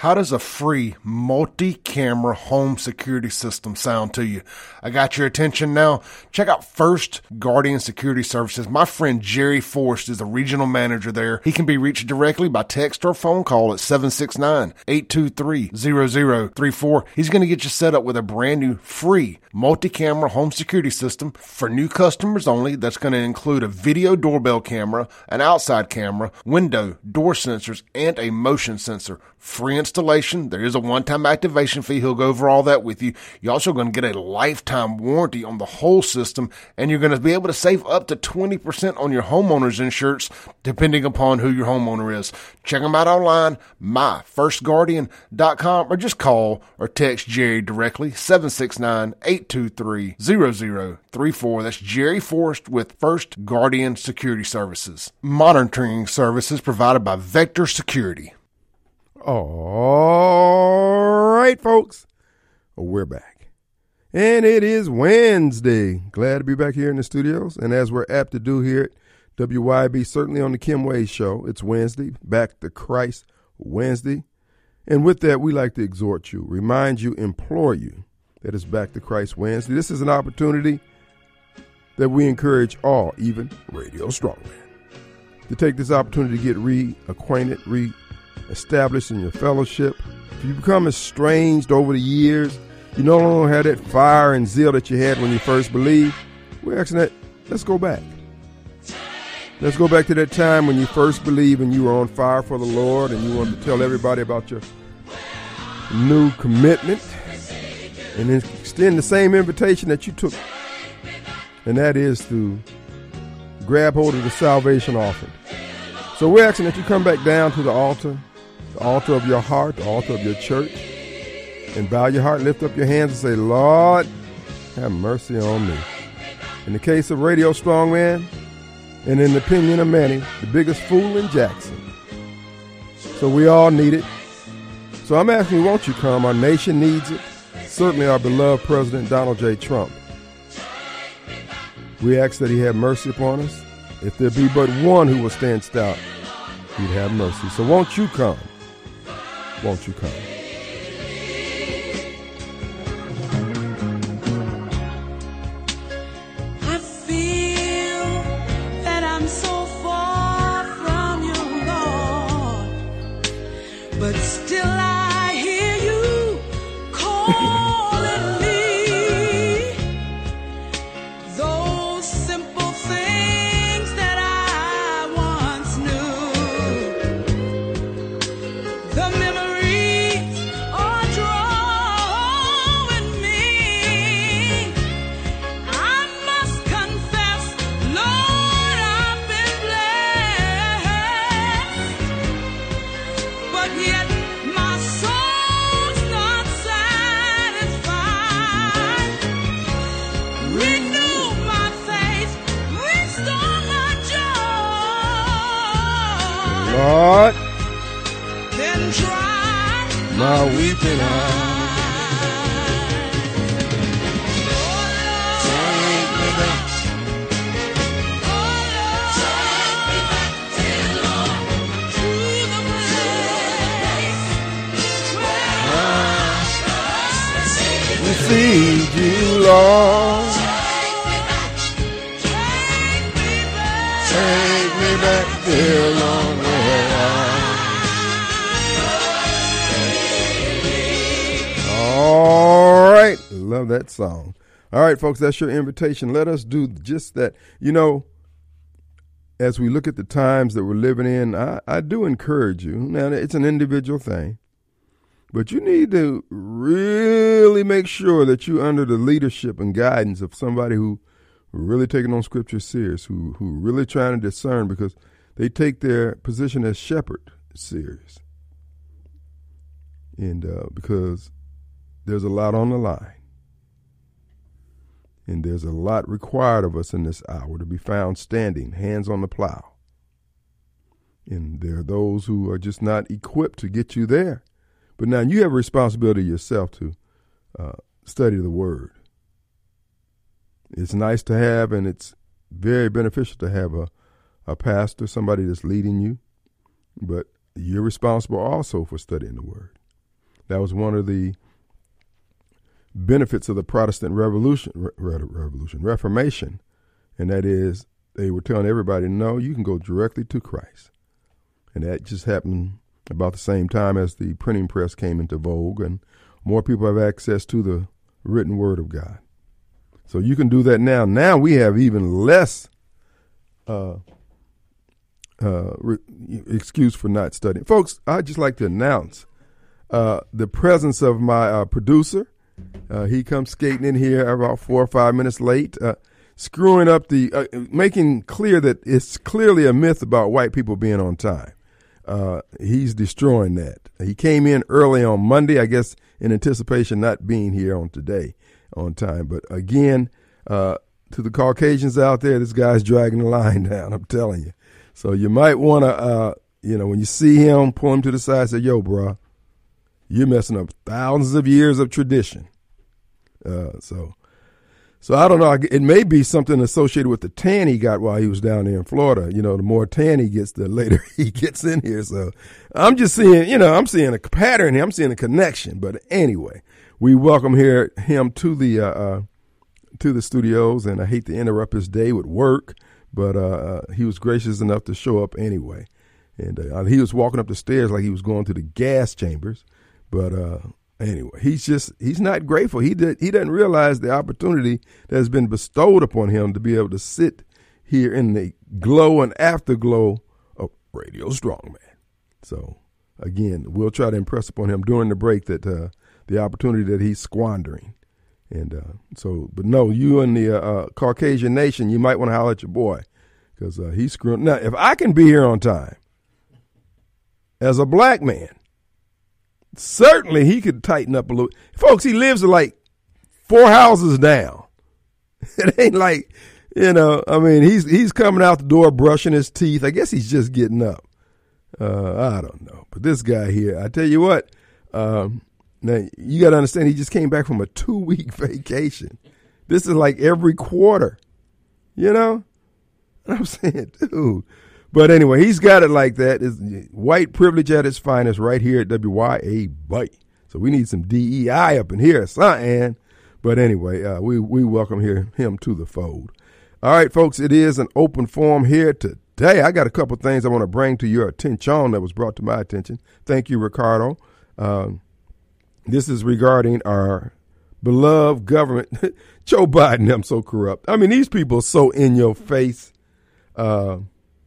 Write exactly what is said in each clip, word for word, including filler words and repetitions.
How does a free multi-camera home security system sound to you? I got your attention now. Check out First Guardian Security Services. My friend Jerry Forrest is the regional manager there. He can be reached directly by text or phone call at seven six nine, eight two three, zero zero three four. He's going to get you set up with a brand new free multi-camera home security system for new customers only. That's going to include a video doorbell camera, an outside camera, window, door sensors, and a motion sensor. Free installation. There is a one-time activation fee. He'll go over all that with you. You're also going to get a lifetime warranty on the whole system, and you're going to be able to save up to twenty percent on your homeowner's insurance, depending upon who your homeowner is. Check them out online, my first guardian dot com, or just call or text Jerry directly, seven six nine, eight two three, zero zero three four. That's Jerry Forrest with First Guardian Security Services. Monitoring services provided by Vector Security. All right, folks, we're back. And it is Wednesday. Glad to be back here in the studios. And as we're apt to do here at W Y B, certainly on the Kim Wade Show, it's Wednesday, Back to Christ Wednesday. And with that, we like to exhort you, remind you, implore you that it's Back to Christ Wednesday. This is an opportunity that we encourage all, even Radio Strongman, to take this opportunity to get reacquainted, re established in your fellowship. If you become estranged over the years, you no longer have that fire and zeal that you had when you first believed, we're asking that, let's go back. Let's go back to that time when you first believed and you were on fire for the Lord and you wanted to tell everybody about your new commitment and then extend the same invitation that you took. And that is to grab hold of the salvation offering. So we're asking that you come back down to the altar, the altar of your heart, the altar of your church, and bow your heart, lift up your hands and say, Lord, have mercy on me. In the case of Radio Strongman, and in the opinion of many, the biggest fool in Jackson. So we all need it. So I'm asking you, won't you come? Our nation needs it. Certainly our beloved President Donald J. Trump. We ask that he have mercy upon us. If there be but one who will stand stout, he'd have mercy. So won't you come? Won't you come? I feel that I'm so far from you, Lord, but still I hear you calling me. Those simple things that I once knew, the memories are drawing me. I must confess, Lord, I've been blessed, but yet my soul's not satisfied. Renew my faith, restore my joy. Lord, Then dry my weeping eyes. Take me back. Oh Lord, to the place where We see you, Lord. take me back. Take me back there long way. All right. Love that song. All right, folks, that's your invitation. Let us do just that. You know, as we look at the times that we're living in, I, I do encourage you. Now, it's an individual thing, but you need to really make sure that you're under the leadership and guidance of somebody who really taking on Scripture serious, who who really trying to discern, because they take their position as shepherd serious. And uh, because there's a lot on the line. And there's a lot required of us in this hour to be found standing, hands on the plow. And there are those who are just not equipped to get you there. But now you have a responsibility yourself to uh, study the Word. It's nice to have, and it's very beneficial to have a, a pastor, somebody that's leading you. But you're responsible also for studying the Word. That was one of the benefits of the Protestant Revolution, re- Revolution, Reformation, and that is they were telling everybody, no, you can go directly to Christ. And that just happened about the same time as the printing press came into vogue, and more people have access to the written word of God. So you can do that now. Now we have even less uh, uh, re- excuse for not studying. Folks, I'd just like to announce uh, the presence of my uh, producer. Uh, he comes skating in here about four or five minutes late, uh, screwing up the, uh, making clear that it's clearly a myth about white people being on time. Uh, he's destroying that. He came in early on Monday, I guess, in anticipation not being here on today on time. But again, uh, to the Caucasians out there, this guy's dragging the line down, I'm telling you. So you might want to, uh, you know, when you see him, pull him to the side and say, yo, bro, you're messing up thousands of years of tradition. Uh, so, so I don't know. It may be something associated with the tan he got while he was down there in Florida. You know, the more tan he gets, the later he gets in here. So I'm just seeing, you know, I'm seeing a pattern here. I'm seeing a connection. But anyway, we welcome here him to the uh, uh, to the studios, and I hate to interrupt his day with work, but uh, uh, he was gracious enough to show up anyway. And uh, he was walking up the stairs like he was going to the gas chambers, but. Uh, Anyway, he's just, he's not grateful. He did, he doesn't realize the opportunity that has been bestowed upon him to be able to sit here in the glow and afterglow of Radio Strongman. So again, we'll try to impress upon him during the break that, uh, the opportunity that he's squandering. And, uh, so, but no, you and the, uh, Caucasian nation, you might want to holler at your boy because, uh, he's screwing. Now, if I can be here on time as a black man, certainly he could tighten up a little. Folks, he lives like four houses down. It ain't like, you know, I mean, he's he's coming out the door brushing his teeth. I guess he's just getting up. Uh, I don't know. But this guy here, I tell you what, um, now you got to understand, he just came back from a two-week vacation. This is like every quarter, you know? I'm saying, dude. But anyway, he's got it like that. It's white privilege at its finest right here at W Y A B. So we need some D E I up in here, son. But anyway, uh, we, we welcome here, him to the fold. All right, folks, it is an open forum here today. I got a couple things I want to bring to your attention that was brought to my attention. Thank you, Ricardo. Um, this is regarding our beloved government. Joe Biden, I'm so corrupt. I mean, these people are so in your face. Uh,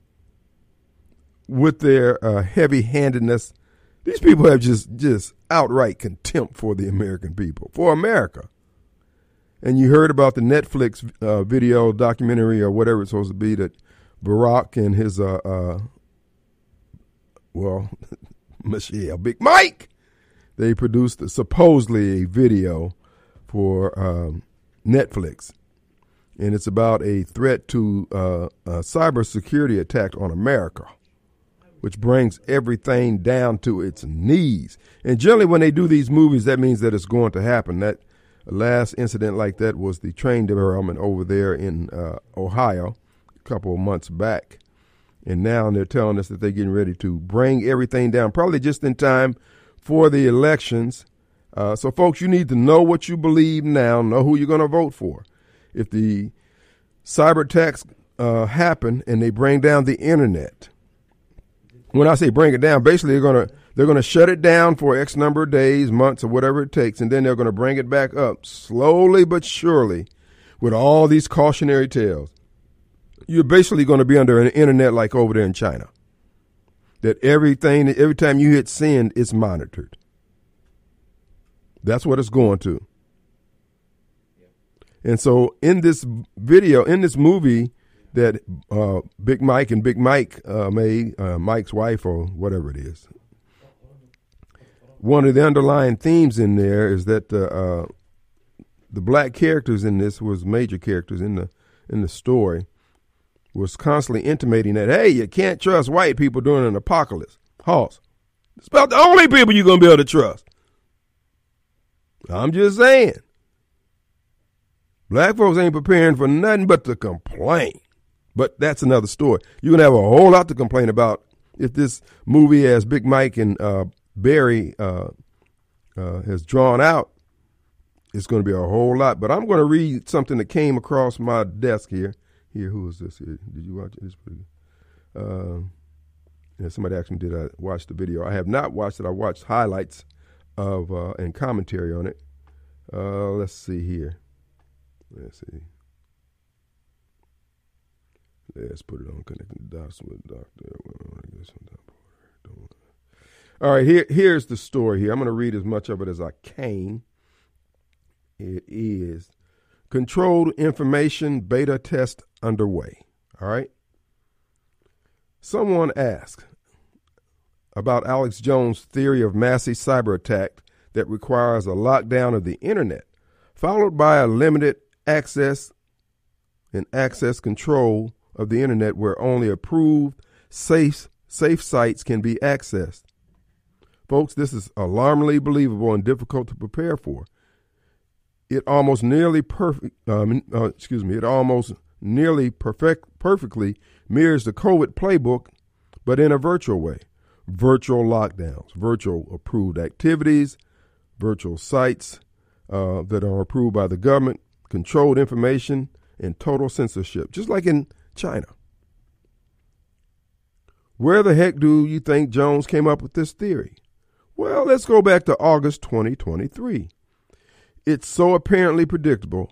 with their uh, heavy-handedness, these people have just, just outright contempt for the American people, for America. And you heard about the Netflix uh, video documentary or whatever it's supposed to be that Barack and his, uh, uh, well, Michelle, Big Mike, they produced supposedly a video for um, Netflix. And it's about a threat to uh, a cybersecurity attack on America, which brings everything down to its knees. And generally when they do these movies, that means that it's going to happen. That last incident like that was the train derailment over there in uh, Ohio a couple of months back. And now they're telling us that they're getting ready to bring everything down, probably just in time for the elections. Uh, so, folks, you need to know what you believe now, know who you're going to vote for. If the cyber attacks uh, happen and they bring down the internet, when I say bring it down, basically they're gonna they're gonna shut it down for X number of days, months, or whatever it takes, and then they're gonna bring it back up slowly but surely, with all these cautionary tales. You're basically going to be under an internet like over there in China. That everything, every time you hit send, it's monitored. That's what it's going to. And so in this video, in this movie that uh, Big Mike and Big Mike uh, made, uh, Mike's wife or whatever it is, one of the underlying themes in there is that uh, uh, the black characters in this was major characters in the in the story was constantly intimating that, hey, you can't trust white people during an apocalypse. Hoss, it's about the only people you're going to be able to trust. I'm just saying. Black folks ain't preparing for nothing but to complain. But that's another story. You're going to have a whole lot to complain about if this movie has Big Mike and uh, Barry uh, uh, has drawn out, it's going to be a whole lot. But I'm going to read something that came across my desk here. Here, who is this here? Did you watch it? It's pretty good. Uh, yeah, somebody asked me, did I watch the video? I have not watched it. I watched highlights of uh, and commentary on it. Uh, let's see here. Let's see. Let's put it on connecting the dots with Doctor All right, here, here's the story here. I'm going to read as much of it as I can. It is controlled information beta test underway. All right. Someone asked about Alex Jones' theory of massive cyber attack that requires a lockdown of the internet, followed by a limited access and access control of the internet where only approved safe safe sites can be accessed. Folks, this is alarmingly believable and difficult to prepare for. It almost nearly perfect, um, uh, excuse me, it almost nearly perfect, perfectly mirrors the COVID playbook, but in a virtual way. Virtual lockdowns, virtual approved activities, virtual sites uh, that are approved by the government, controlled information, and total censorship, just like in China. Where the heck do you think Jones came up with this theory? Well, let's go back to August twenty twenty-three. It's so apparently predictable.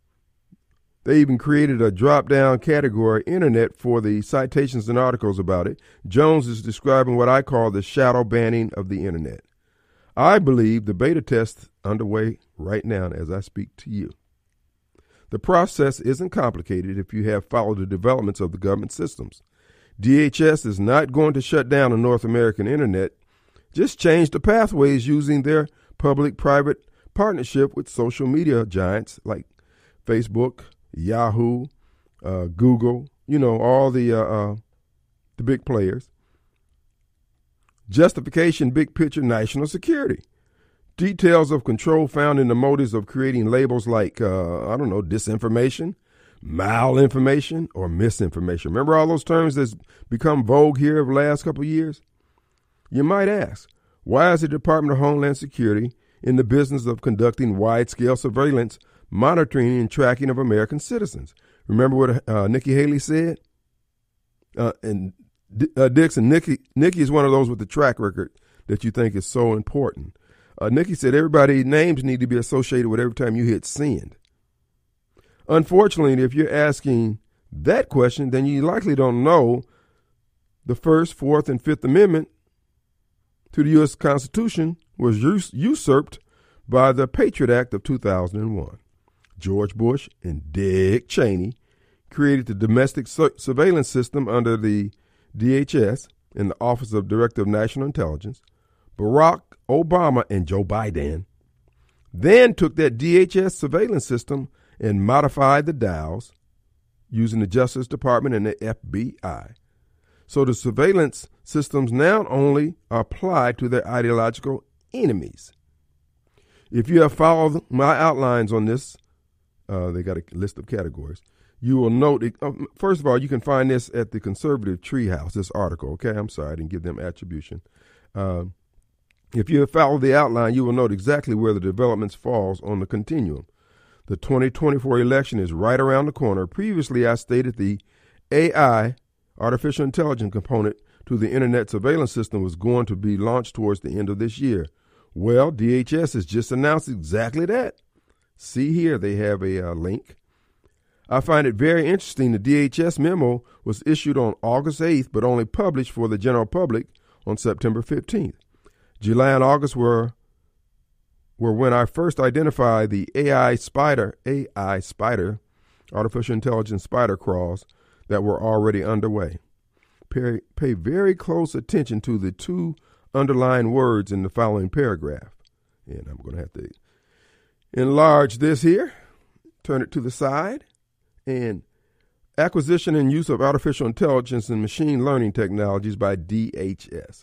They even created a drop-down category, Internet, for the citations and articles about it. Jones is describing what I call the shadow banning of the Internet. I believe the beta test is underway right now as I speak to you. The process isn't complicated if you have followed the developments of the government systems. D H S is not going to shut down the North American Internet. Just change the pathways using their public-private partnership with social media giants like Facebook, Yahoo, uh, Google, you know, all the uh, uh, the big players. Justification, big picture, national security. Details of control found in the motives of creating labels like, uh, I don't know, disinformation, malinformation, or misinformation. Remember all those terms that's become vogue here over the last couple of years? You might ask, why is the Department of Homeland Security in the business of conducting wide-scale surveillance, monitoring, and tracking of American citizens? Remember what uh, Nikki Haley said? Uh, and uh, Dixon, Nikki, Nikki is one of those with the track record that you think is so important. Uh, Nikki said everybody's names need to be associated with every time you hit send. Unfortunately, if you're asking that question, then you likely don't know the First, Fourth, and Fifth Amendment to the U S Constitution was us- usurped by the Patriot Act of two thousand one. George Bush and Dick Cheney created the domestic su- surveillance system under the D H S and the Office of Director of National Intelligence. Barack Obama and Joe Biden then took that D H S surveillance system and modified the dials using the Justice Department and the F B I. So the surveillance systems now only apply to their ideological enemies. If you have followed my outlines on this, uh, they got a list of categories, you will note, it, uh, first of all, you can find this at the Conservative Treehouse, this article, okay? I'm sorry, I didn't give them attribution. Uh, if you have followed the outline, you will note exactly where the developments falls on the continuum. The twenty twenty-four election is right around the corner. Previously, I stated the A I, artificial intelligence component to the Internet surveillance system was going to be launched towards the end of this year. Well, D H S has just announced exactly that. See here, they have a uh, link. I find it very interesting the D H S memo was issued on August eighth, but only published for the general public on September fifteenth. July and August were were when I first identified the A I spider, A I spider, artificial intelligence spider crawls that were already underway. Pay, pay very close attention to the two underlying words in the following paragraph. And I'm going to have to enlarge this here, turn it to the side, and acquisition and use of artificial intelligence and machine learning technologies by D H S.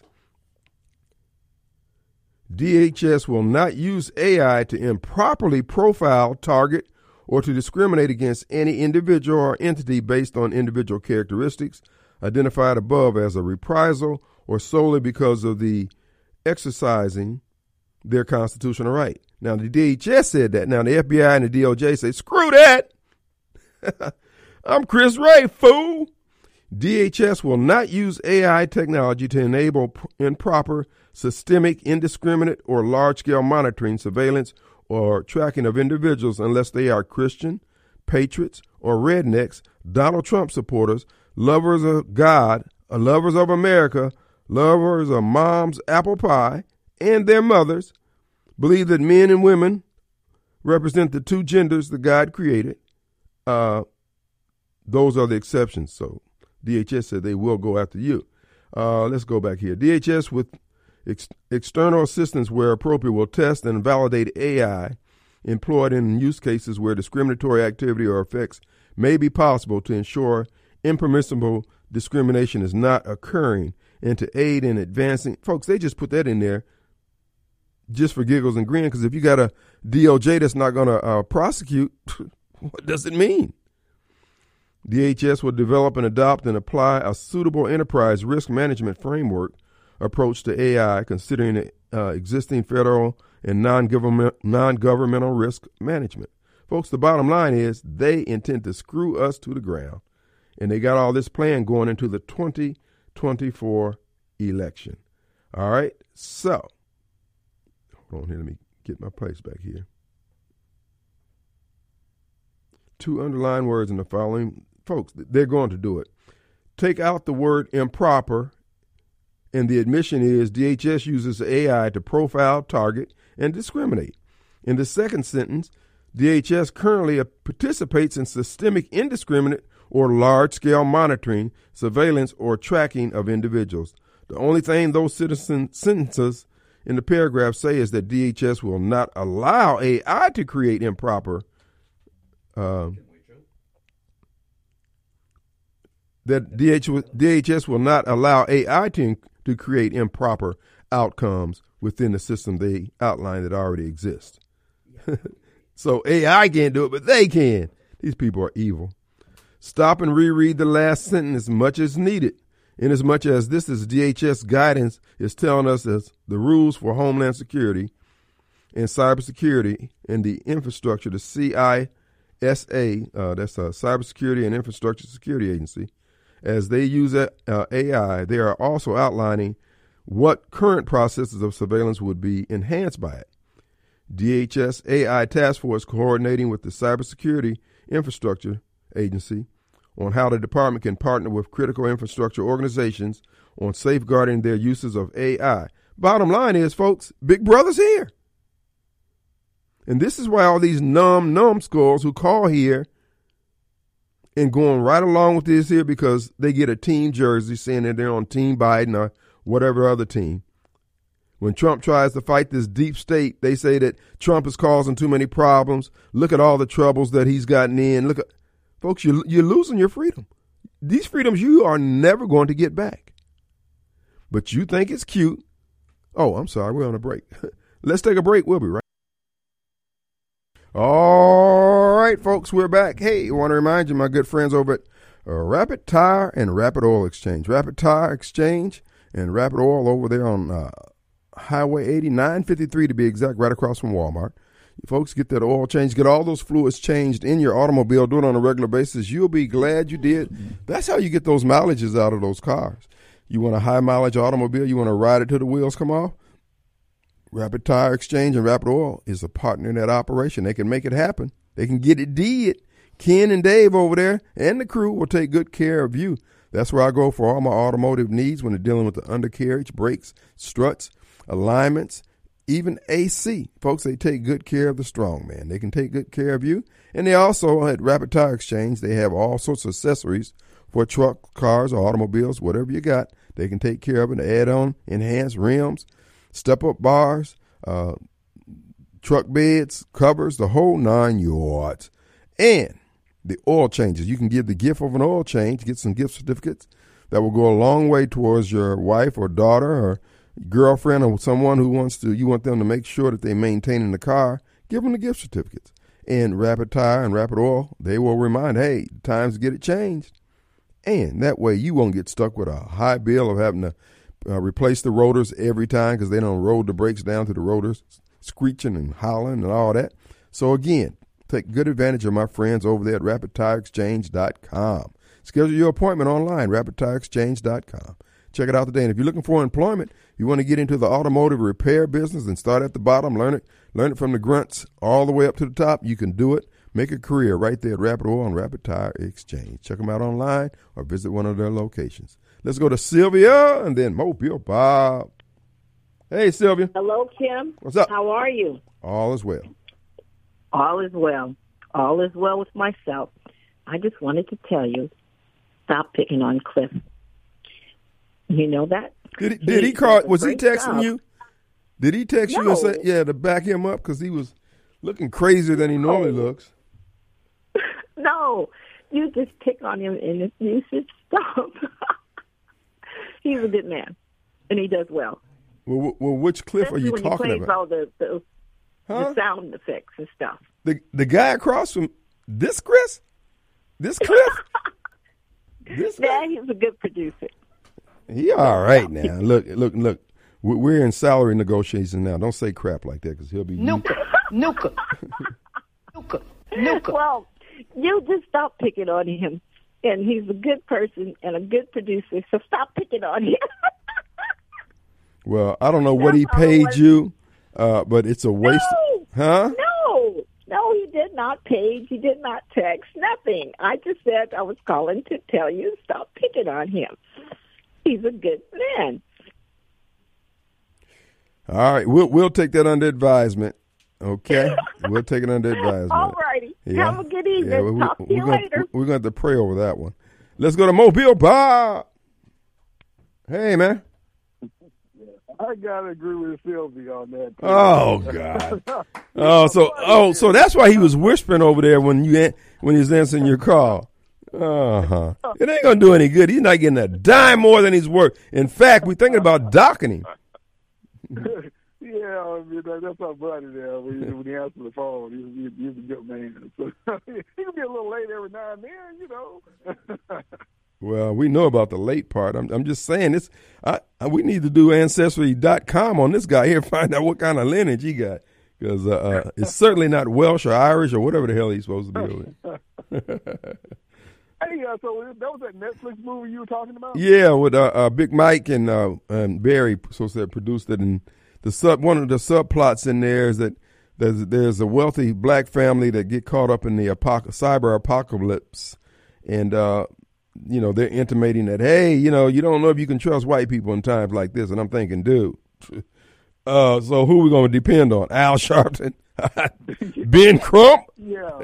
D H S will not use A I to improperly profile, target, or to discriminate against any individual or entity based on individual characteristics identified above as a reprisal or solely because of the exercising their constitutional right. Now, the D H S said that. Now, the F B I and the D O J say, screw that. I'm Chris Wray, fool. D H S will not use A I technology to enable improper, systemic, indiscriminate, or large-scale monitoring, surveillance, or tracking of individuals unless they are Christian, patriots, or rednecks, Donald Trump supporters, lovers of God, lovers of America, lovers of mom's apple pie, and their mothers, believe that men and women represent the two genders that God created. Uh, those are the exceptions. So D H S said they will go after you. Uh, let's go back here. D H S, with ex- external assistance where appropriate, will test and validate A I employed in use cases where discriminatory activity or effects may be possible to ensure impermissible discrimination is not occurring and to aid in advancing. Folks, they just put that in there just for giggles and grins, because if you got a D O J that's not going to uh, prosecute, what does it mean? D H S will develop and adopt and apply a suitable enterprise risk management framework approach to A I, considering uh, existing federal and non-government, non-governmental risk management. Folks, the bottom line is they intend to screw us to the ground, and they got all this plan going into the twenty twenty-four election. All right, so hold on here. Let me get my place back here. Two underlined words in the following. Folks, they're going to do it. Take out the word improper, and the admission is D H S uses A I to profile, target, and discriminate. In the second sentence, D H S currently participates in systemic, indiscriminate, or large-scale monitoring, surveillance, or tracking of individuals. The only thing those citizen sentences in the paragraph say is that D H S will not allow A I to create improper uh, that D H S will not allow A I to, to create improper outcomes within the system they outlined that already exists. So A I can't do it, but they can. These people are evil. Stop and reread the last sentence as much as needed, inasmuch as this is D H S guidance is telling us as the rules for Homeland Security and cybersecurity and the infrastructure, the C I S A, uh, that's a Cybersecurity and Infrastructure Security Agency. As they use uh, A I, they are also outlining what current processes of surveillance would be enhanced by it. D H S A I Task Force coordinating with the Cybersecurity Infrastructure Agency on how the department can partner with critical infrastructure organizations on safeguarding their uses of A I. Bottom line is, folks, Big Brother's here. And this is why all these numb numbskulls who call here and going right along with this here, because they get a team jersey saying that they're on Team Biden or whatever other team. When Trump tries to fight this deep state, they say that Trump is causing too many problems. Look at all the troubles that he's gotten in. Look at, folks, you're, you're losing your freedom. These freedoms you are never going to get back. But you think it's cute. Oh, I'm sorry. We're on a break. Let's take a break. We'll be right back. All right, folks, we're back. Hey, I want to remind you, my good friends over at uh, Rapid Tire and Rapid Oil Exchange. Rapid Tire Exchange and Rapid Oil over there on uh, Highway eighty, nine fifty-three to be exact, right across from Walmart. You folks get that oil change, get all those fluids changed in your automobile, do it on a regular basis. You'll be glad you did. That's how you get those mileages out of those cars. You want a high mileage automobile, you want to ride it till the wheels come off? Rapid Tire Exchange and Rapid Oil is a partner in that operation. They can make it happen. They can get it did. Ken and Dave over there and the crew will take good care of you. That's where I go for all my automotive needs when they're dealing with the undercarriage, brakes, struts, alignments, even A C. Folks, they take good care of the strong man. They can take good care of you. And they also, at Rapid Tire Exchange, they have all sorts of accessories for truck, cars, or automobiles, whatever you got. They can take care of it, add on, enhance rims, step-up bars, uh, truck beds, covers, the whole nine yards. And the oil changes. You can give the gift of an oil change, get some gift certificates that will go a long way towards your wife or daughter or girlfriend or someone who wants to, you want them to make sure that they maintain in the car. Give them the gift certificates. And Rapid Tire and Rapid Oil, they will remind, hey, time's to get it changed. And that way you won't get stuck with a high bill of having to uh, replace the rotors every time because they don't roll the brakes down to the rotors, screeching and howling and all that. So again, take good advantage of my friends over there at rapid tire exchange dot com. Schedule your appointment online, rapid tire exchange dot com. Check it out today. And if you're looking for employment, you want to get into the automotive repair business and start at the bottom, learn it, learn it from the grunts all the way up to the top, you can do it. Make a career right there at Rapid Oil and Rapid Tire Exchange. Check them out online or visit one of their locations. Let's go to Sylvia and then Mobile Bob. Hey, Sylvia. Hello, Kim. What's up? How are you? All is well. All is well. All is well with myself. I just wanted to tell you, stop picking on Cliff. You know that? Did he, did he call? Was he Great texting job. you? Did he text you and say, No. yeah, to back him up because he was looking crazier than he normally looks? No, you just pick on him and you should stop. He's a good man, and he does well. Well, well which Cliff are Especially you when talking he plays about? all the, the, Huh? the sound effects and stuff. The the guy across from this Chris? This Cliff? This Yeah, guy? he's a good producer. He all right now. Look, look, look. We- We're in salary negotiations now. Don't say crap like that because he'll be. Nuka, nuka, nuka, nuka. Well, you just stop picking on him. And he's a good person and a good producer, so stop picking on him. Well, I don't know what he That's all it paid was. you, uh, but it's a waste. No, Huh? no, no, he did not page. He did not text. Nothing. I just said I was calling to tell you stop picking on him. He's a good man. All right, we'll we'll take that under advisement. Okay, we'll take it under advisement. All righty. Have a good evening. Yeah, we- Talk to we're you gonna, later. We're going to have to pray over that one. Let's go to Mobile Bob. Hey, man. I gotta agree with Sylvia on that. too. Oh God. Oh, so oh, so that's why he was whispering over there when you an- when he was answering your call. Uh huh. It ain't gonna do any good. He's not getting a dime more than he's worth. In fact, we're thinking about docking him. Yeah, I mean, that, that's our buddy there. When he, when he answers the phone, he's, he's, he's a good man. So, he can be a little late every now and then, you know. Well, we know about the late part. I'm, I'm just saying this. I, I we need to do ancestry dot com on this guy here, find out what kind of lineage he got, because uh, uh, it's certainly not Welsh or Irish or whatever the hell he's supposed to be. With. Hey, uh, so that was that Netflix movie you were talking about? Yeah, with uh, uh, Big Mike and uh, and Barry, so said produced it, and the sub one of the subplots in there is that there's there's a wealthy black family that get caught up in the apoc- cyber apocalypse, and uh, you know they're intimating that hey, you know you don't know if you can trust white people in times like this, and I'm thinking, dude, uh, so who we gonna depend on? Al Sharpton, Ben Crump? Yeah.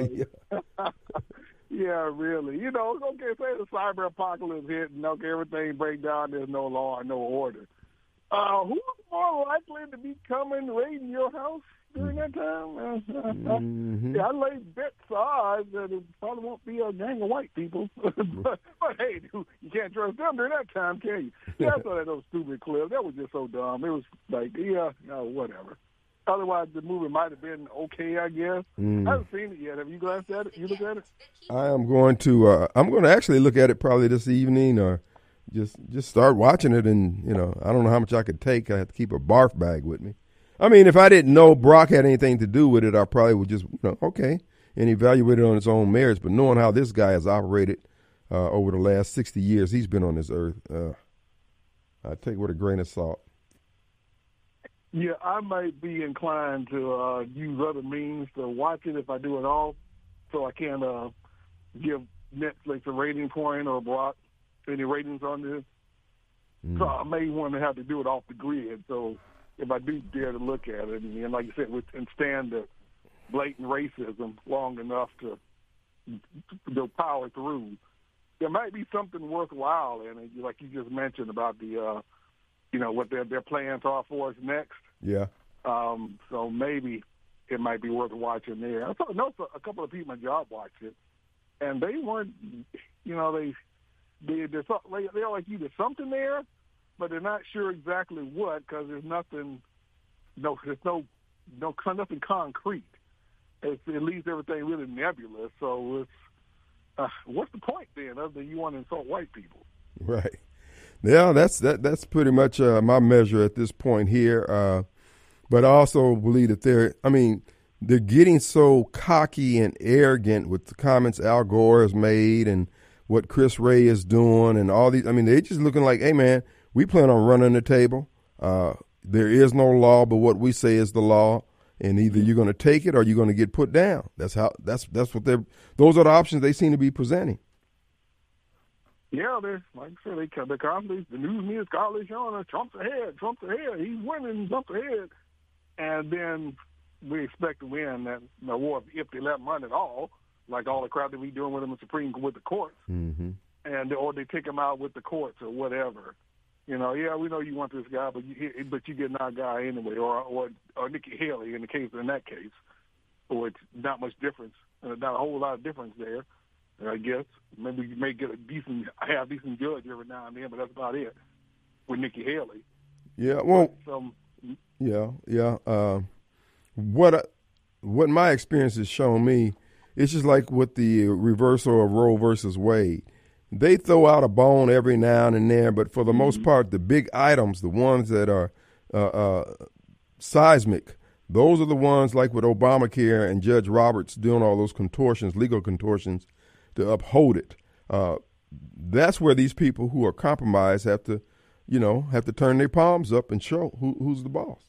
Yeah, really. You know, okay, say the cyber apocalypse hit and okay, everything break down, there's no law and no order. Uh, who's more likely to be coming raiding your house during that time? Uh, Mm-hmm. yeah, I lay bets odds that it probably won't be a gang of white people. but, but hey, you you can't trust them during that time, can you? Yeah, I saw that those stupid clip. That was just so dumb. It was like, yeah, no, whatever. Otherwise, the movie might have been okay, I guess. Mm. I haven't seen it yet. Have you glanced at it? You looked at it? I am going to. Uh, I'm going to actually look at it probably this evening, or just just start watching it. And you know, I don't know how much I could take. I have to keep a barf bag with me. I mean, if I didn't know Brock had anything to do with it, I probably would just, you know, okay, and evaluate it on its own merits. But knowing how this guy has operated uh, over the last sixty years he's been on this earth, uh, I take it with a grain of salt. Yeah, I might be inclined to uh, use other means to watch it if I do it all, so I can uh, give Netflix a rating point or block any ratings on this. Mm. So I may want to have to do it off the grid. So if I do dare to look at it, and, and like you said, with, and stand the blatant racism long enough to, to power through, there might be something worthwhile in it, like you just mentioned about the, uh, you know, what their their plans are for us next. Yeah. Um, so maybe it might be worth watching there. I thought, know a couple of people in my job watched it, and they weren't, you know, they they they're, they're like you. There's something there, but they're not sure exactly what because there's nothing, no, there's no no nothing concrete. It's, it leaves everything really nebulous. So it's uh, what's the point then, other than you want to insult white people? Right. Yeah, that's that. That's pretty much uh, my measure at this point here. Uh, but I also believe that they're. I mean, they're getting so cocky and arrogant with the comments Al Gore has made and what Chris Wray is doing and all these. I mean, they're just looking like, hey, man, we plan on running the table. Uh, there is no law, but what we say is the law. And either you're going to take it or you're going to get put down. That's how. That's that's what they're. Those are the options they seem to be presenting. Yeah, they're like I said, they the constantly the news media is constantly showing us Trump's ahead, Trump's ahead, he's winning, Trump's ahead, and then we expect to win that the war if they let him run at all, like all the crap that we doing with him in Supreme with the courts, Mm-hmm. and or they take him out with the courts or whatever. You know, yeah, we know you want this guy, but you but you get our guy anyway, or or or Nikki Haley in the case in that case, or it's not much difference, uh, not a whole lot of difference there. I guess maybe you may get a decent, half decent judge every now and then, but that's about it with Nikki Haley. Yeah, well, So, yeah, yeah. Uh, what I, what my experience has shown me, it's just like with the reversal of Roe versus Wade. They throw out a bone every now and then, but for the most part, the big items, the ones that are uh, uh, seismic, those are the ones like with Obamacare and Judge Roberts doing all those contortions, legal contortions, to uphold it. Uh, that's where these people who are compromised have to, you know, have to turn their palms up and show who, who's the boss.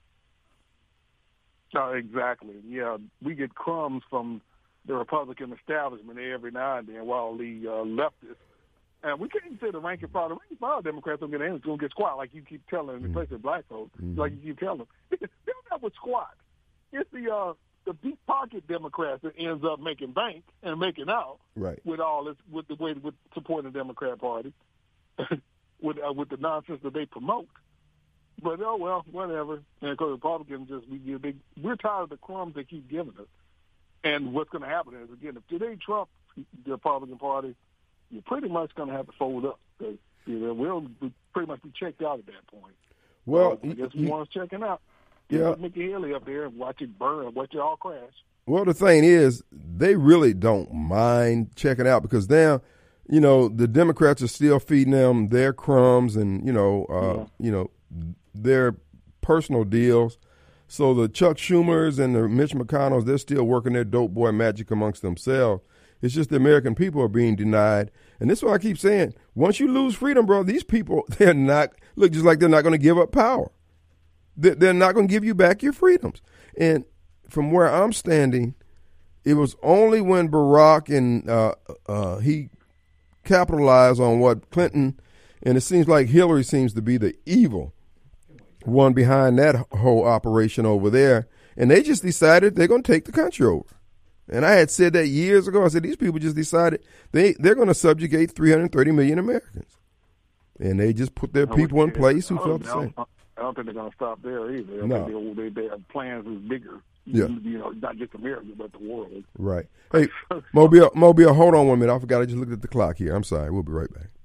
uh, exactly. Yeah, we get crumbs from the Republican establishment every now and then, while the uh, leftists, and we can't say the rank and file. The rank and file Democrats don't get anything. It's going to get squat, like you keep telling, mm-hmm. especially black folks, mm-hmm. like you keep telling them. They don't have a squat. It's the uh, the deep pocket Democrats that ends up making bank and making out right. with all this, with the way with supporting the Democrat Party, with uh, with the nonsense that they promote. But oh well, whatever. And because Republicans just we give big, we're tired of the crumbs they keep giving us. And what's going to happen is again, if today Trump, the Republican Party, you're pretty much going to have to fold up because you know, we'll pretty much be checked out at that point. Well, so I guess we want us checking out. Yeah, put Nikki Haley up there and watch it burn, watch it all crash. Well, the thing is, they really don't mind checking out because now, you know, the Democrats are still feeding them their crumbs and you know, uh, yeah. you know, their personal deals. So the Chuck Schumers and the Mitch McConnells, they're still working their dope boy magic amongst themselves. It's just the American people are being denied. And this is what I keep saying. Once you lose freedom, bro, these people, they're not, look just like they're not going to give up power. They're not going to give you back your freedoms. And from where I'm standing, it was only when Barack and uh, uh, he capitalized on what Clinton, and it seems like Hillary seems to be the evil one behind that whole operation over there. And they just decided they're going to take the country over. And I had said that years ago. I said, these people just decided they, they're going to subjugate three hundred thirty million Americans. And they just put their people in place who felt the same. I don't think they're going to stop there either. I no. think they, they have plans that's bigger. Yeah. You know, not just America, but the world. Right. Hey, Mobile, Mobile, hold on one minute. I forgot. I just looked at the clock here. I'm sorry. We'll be right back.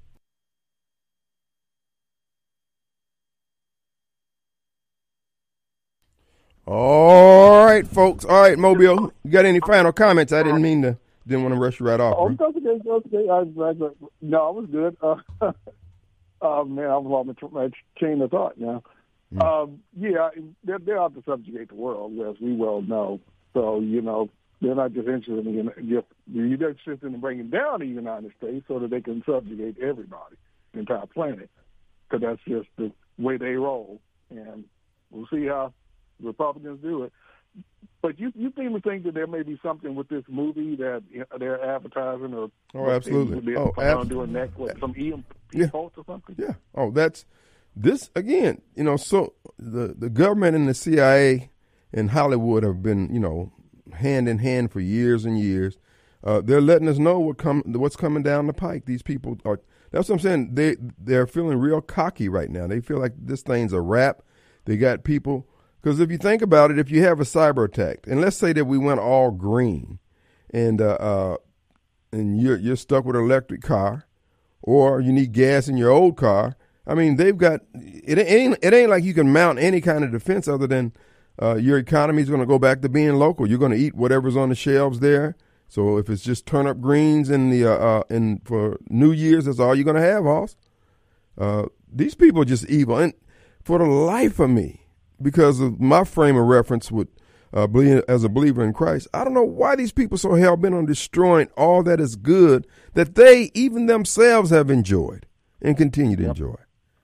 All right, folks. All right, Mobile. You got any final comments? I didn't mean to. Didn't want to rush you right off. Oh, that's okay. That's okay. I was, no, I was good. Uh, uh, man, I was on my chain of thought now. Mm. Um, yeah, they're, they're out to subjugate the world, as we well know. So, you know, they're not just interested in just, they're interested in bringing down the United States so that they can subjugate everybody, the entire planet, because that's just the way they roll. And we'll see how Republicans do it. But you you seem to think that there may be something with this movie that they're advertising or oh absolutely oh absolutely doing next with some E M P yeah. or something. Yeah. Oh, that's this again. You know, so the the government and the C I A and Hollywood have been you know hand in hand for years and years. Uh, they're letting us know what come what's coming down the pike. These people are. That's what I'm saying. They they're feeling real cocky right now. They feel like this thing's a wrap. They got people. Because if you think about it, if you have a cyber attack, and let's say that we went all green, and uh, uh, and you're you're stuck with an electric car, or you need gas in your old car. I mean, they've got it. Ain't it ain't like you can mount any kind of defense other than uh, your economy is going to go back to being local. You're going to eat whatever's on the shelves there. So if it's just turnip greens in the uh, uh, in for New Year's, that's all you're going to have, Hoss. Uh, these people are just evil. And for the life of me, because of my frame of reference with uh, being, as a believer in Christ, I don't know why these people are so hell-bent on destroying all that is good that they, even themselves, have enjoyed and continue to Yep. enjoy.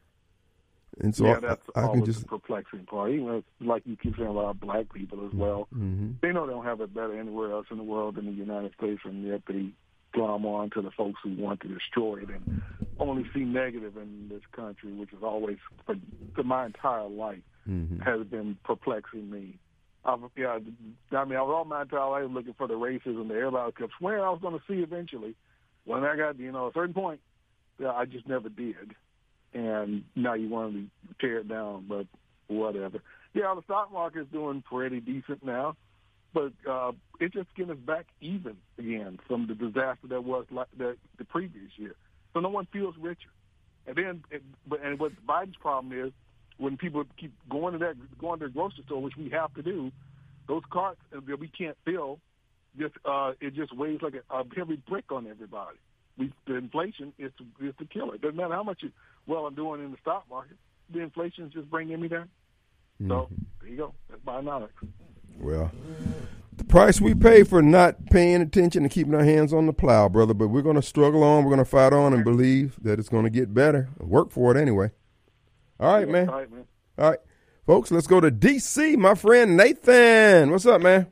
And so yeah, I, that's I, I can always just, the perplexing part. Even if, like you keep saying about black people as well, mm-hmm. they know they don't have it better anywhere else in the world than the United States, and yet they glom on to the folks who want to destroy it and only see negative in this country, which is always, for, for my entire life, Mm-hmm. has been perplexing me. I've, yeah, I mean, I was all my entire life looking for the racism that everybody kept swearing I was going to see eventually. When I got, you know, a certain point, yeah, I just never did. And now you want to tear it down, but whatever. Yeah, the stock market is doing pretty decent now, but uh, it's just getting us back even again from the disaster that was like the, the previous year. So no one feels richer. And then, it, but and what Biden's problem is, when people keep going to that, going to the grocery store, which we have to do, those carts that we can't fill, just uh, it just weighs like a, a heavy brick on everybody. We, the inflation is to, is to kill it. Doesn't matter how much you, well I'm doing in the stock market. The inflation is just bringing me down. Mm-hmm. So there you go. That's bionomics. Well, the price we pay for not paying attention and keeping our hands on the plow, brother. But we're going to struggle on. We're going to fight on and believe that it's going to get better. Work for it anyway. All right, man. All right, man. All right, folks, let's go to D C. My friend Nathan. What's up, man?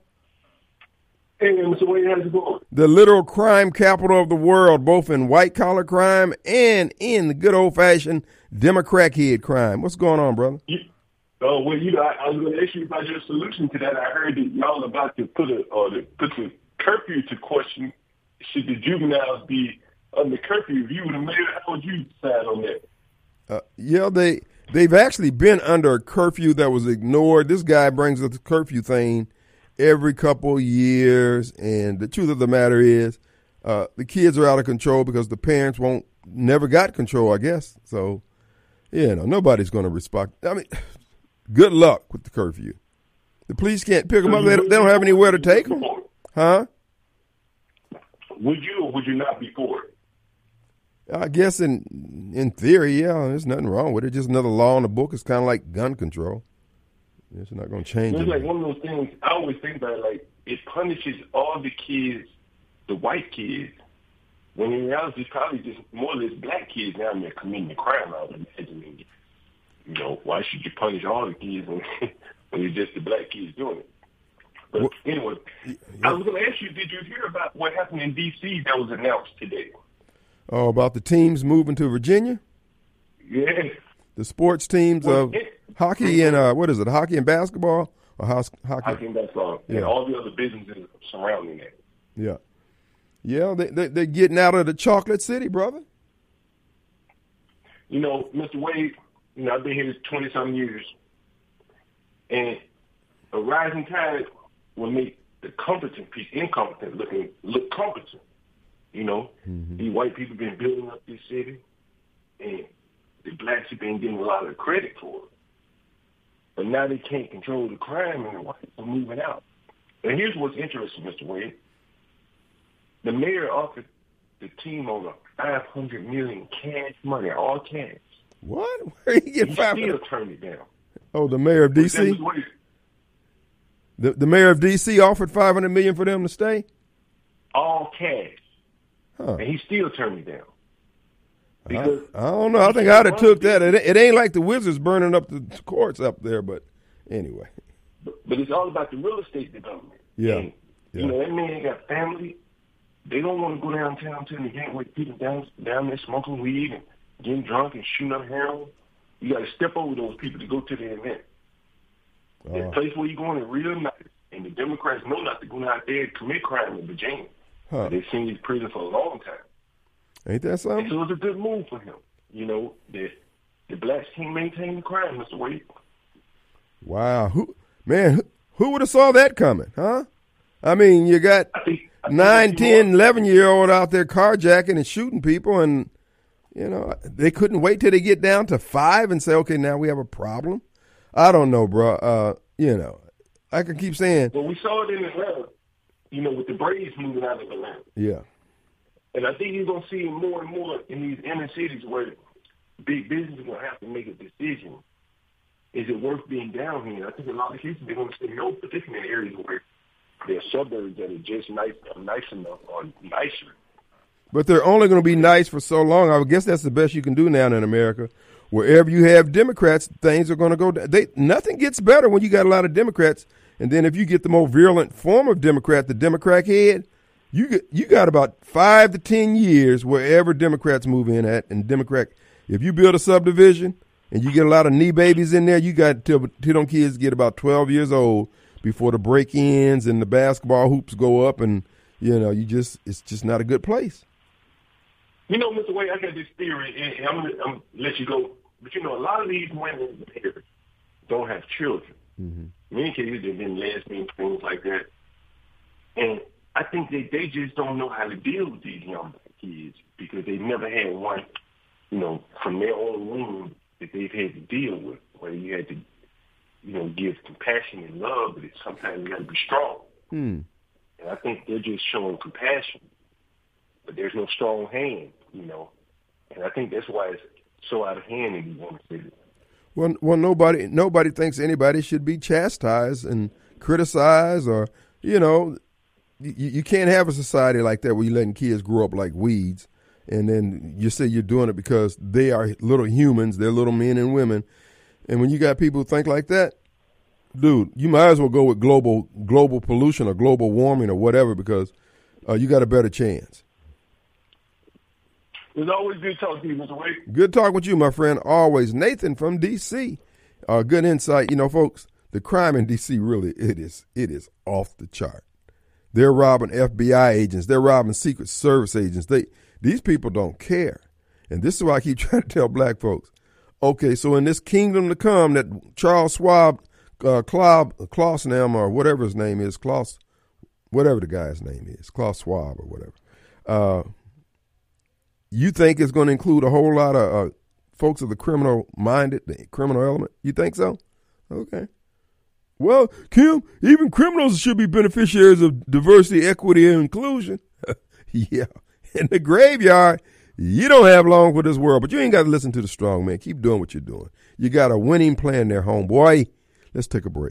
Hey, Mister Wade, how's it going? The literal crime capital of the world, both in white-collar crime and in the good old-fashioned Democrat head crime. What's going on, brother? You, oh, well, you know, I, I was going to ask you about your solution to that. I heard that y'all about to put a or to put the curfew to question. Should the juveniles be under curfew? If you were the mayor, how would you decide on that? Uh, yeah, they they've actually been under a curfew that was ignored. This guy brings up the curfew thing every couple of years, and the truth of the matter is, uh, the kids are out of control because the parents won't never got control, I guess. So, you know, nobody's going to respect. I mean, good luck with the curfew. The police can't pick them up. They don't, they don't have anywhere to take them, huh? Would you or would you not be for it? I guess in in theory, yeah, there's nothing wrong with it. Just another law in the book. It's kind of like gun control. It's not going to change It's it. like one of those things. I always think about it, like it punishes all the kids, the white kids, when in reality it's probably just more or less black kids down there committing the crime. I would imagine. You know, why should you punish all the kids when, when it's just the black kids doing it? But Well, anyway, yeah. I was going to ask you, did you hear about what happened in D C that was announced today? Oh, about the teams moving to Virginia? Yeah. The sports teams Well, of it- hockey and, uh, what is it, hockey and basketball? Or house, hockey? Hockey and basketball, Yeah. and all the other businesses surrounding that. Yeah. Yeah, they, they, they're getting out of the chocolate city, brother. You know, Mister Wade, you know, I've been here twenty-some years, and a rising tide will make the competent piece incompetent looking look competent. You know, Mm-hmm. these white people been building up this city, and the blacks have been getting a lot of credit for it. But now they can't control the crime, and the whites are moving out. And here's what's interesting, Mister Wade. The mayor offered the team over five hundred million cash money, all cash. What? Where you get He five? still turned it down. Oh, the mayor of D C. Mister Wade, The, the mayor of D C offered five hundred million for them to stay. all cash, Huh. and he still turned it down. I, Because I don't know. I think I'd have took that. It, it ain't like the Wizards burning up the courts up there, but anyway. But, but it's all about the real estate development. Yeah. And, Yeah. You know, that man got family. They don't want to go downtown to the gateway, people down down there smoking weed and getting drunk and shooting up heroin. You got to step over those people to go to the event. The Oh. place where you're going is real nice. And the Democrats know not to go out there and commit crime in Virginia. Huh. They've seen these prison for a long time. Ain't that And something? so it's a good move for him. You know, the, the blacks can't maintain the crime, Mister Wade. Wow. Who, man, who, who would have saw that coming, huh? I mean, you got I think, I think nine, that's ten, more- eleven-year-old out there carjacking and shooting people, and, you know, they couldn't wait till they get down to five and say, okay, now we have a problem. I don't know, bro. Uh, you know, I can keep saying, Well, we saw it in Atlanta, you know, with the Braves moving out of Atlanta. yeah. And I think you're going to see it more and more in these inner cities where big business is going to have to make a decision. Is it worth being down here? I think in a lot of cases they're going to say no, particularly in areas where there are suburbs that are just nice, nice enough or nicer. But they're only going to be nice for so long. I guess that's the best you can do now in America. Wherever you have Democrats, things are going to go down. They, nothing gets better when you got a lot of Democrats. And then if you get the more virulent form of Democrat, the Democrat head, you get, you got about five to ten years wherever Democrats move in at. And Democrat, if you build a subdivision and you get a lot of knee babies in there, you got till, till them kids get about twelve years old before the break-ins and the basketball hoops go up. And, you know, you just it's just not a good place. You know, Mister Wade, I got this theory, and I'm, I'm going to let you go. But, you know, a lot of these women here don't have children. Mm-hmm. In many cases, they've been lesbians, things like that. And I think they, they just don't know how to deal with these young kids because they've never had one, you know, from their own womb that they've had to deal with, where you had to, you know, give compassion and love, but it's sometimes you got to be strong. Hmm. And I think they're just showing compassion, but there's no strong hand, you know. And I think that's why it's so out of hand in these women's cities. Well, well, nobody, nobody thinks anybody should be chastised and criticized, or you know, you, you can't have a society like that where you're letting kids grow up like weeds, and then you say you're doing it because they are little humans, they're little men and women, and when you got people who think like that, dude, you might as well go with global global pollution or global warming or whatever because uh, you got a better chance. It's always good talking to you, Mister Wade. Good talking with you, my friend. Always. Nathan from D C. Uh, good insight. You know, folks, the crime in D C really, it is, it is off the chart. They're robbing F B I agents. They're robbing Secret Service agents. They, these people don't care. And this is why I keep trying to tell black folks. Okay, so in this kingdom to come that Charles Schwab, uh, Klaus, Klausnam, or whatever his name is, Klaus, whatever the guy's name is, Klaus Schwab or whatever, uh, you think it's going to include a whole lot of uh, folks of the criminal-minded, the criminal element? You think so? Okay. Well, Kim, even criminals should be beneficiaries of diversity, equity, and inclusion. Yeah. In the graveyard, you don't have long for this world, but you ain't got to listen to the strong man. Keep doing what you're doing. You got a winning plan there, homeboy. Let's take a break.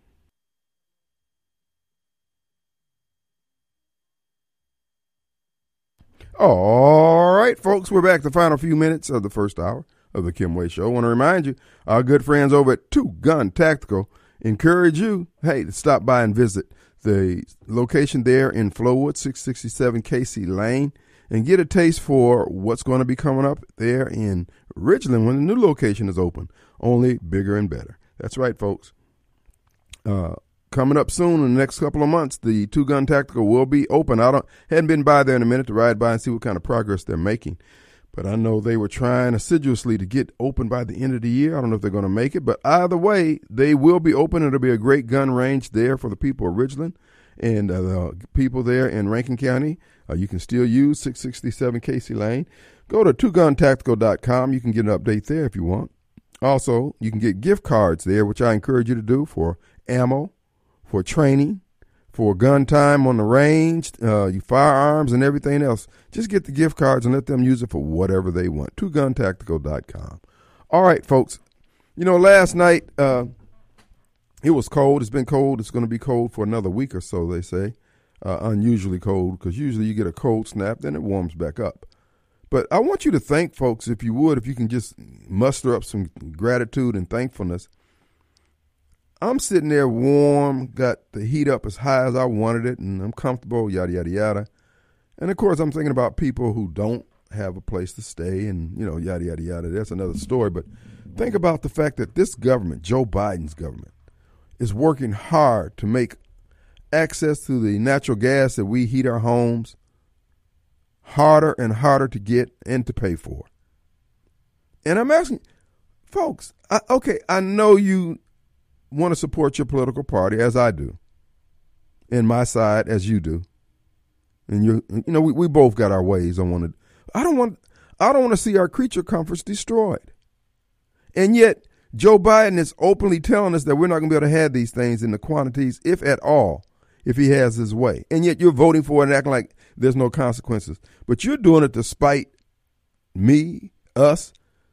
All right, folks, we're back to the final few minutes of the first hour of the Kim Wade Show. I want to remind you, our good friends over at Two Gun Tactical encourage you, hey, to stop by and visit the location there in Flowood, six sixty-seven Casey Lane, and get a taste for what's going to be coming up there in Ridgeland when the new location is open, only bigger and better. That's right, folks. Uh, Coming up soon in the next couple of months, the Two Gun Tactical will be open. I don't hadn't been by there in a minute to ride by and see what kind of progress they're making. But I know they were trying assiduously to get open by the end of the year. I don't know if they're going to make it. But either way, they will be open. It'll be a great gun range there for the people of Ridgeland and uh, the people there in Rankin County. Uh, you can still use six sixty-seven Casey Lane. Go to two gun tactical dot com. You can get an update there if you want. Also, you can get gift cards there, which I encourage you to do for ammo, for training, for gun time on the range, uh, your firearms and everything else. Just get the gift cards and let them use it for whatever they want. two gun tactical dot com. All right, folks. You know, last night uh, it was cold. It's been cold. It's going to be cold for another week or so, they say. Uh, unusually cold because usually you get a cold snap, then it warms back up. But I want you to thank folks, if you would, if you can just muster up some gratitude and thankfulness. I'm sitting there warm, got the heat up as high as I wanted it, and I'm comfortable, yada, yada, yada. And, of course, I'm thinking about people who don't have a place to stay and, you know, yada, yada, yada. That's another story. But think about the fact that this government, Joe Biden's government, is working hard to make access to the natural gas that we heat our homes harder and harder to get and to pay for. And I'm asking, folks, I, okay, I know you want to support your political party, as I do, and my side as you do, and you, you know, we, we both got our ways. I want to, I don't want, I don't want to see our creature comforts destroyed, and yet Joe Biden is openly telling us that we're not going to be able to have these things in the quantities, if at all, if he has his way, and yet you're voting for it and acting like there's no consequences, but you're doing it to spite me, us,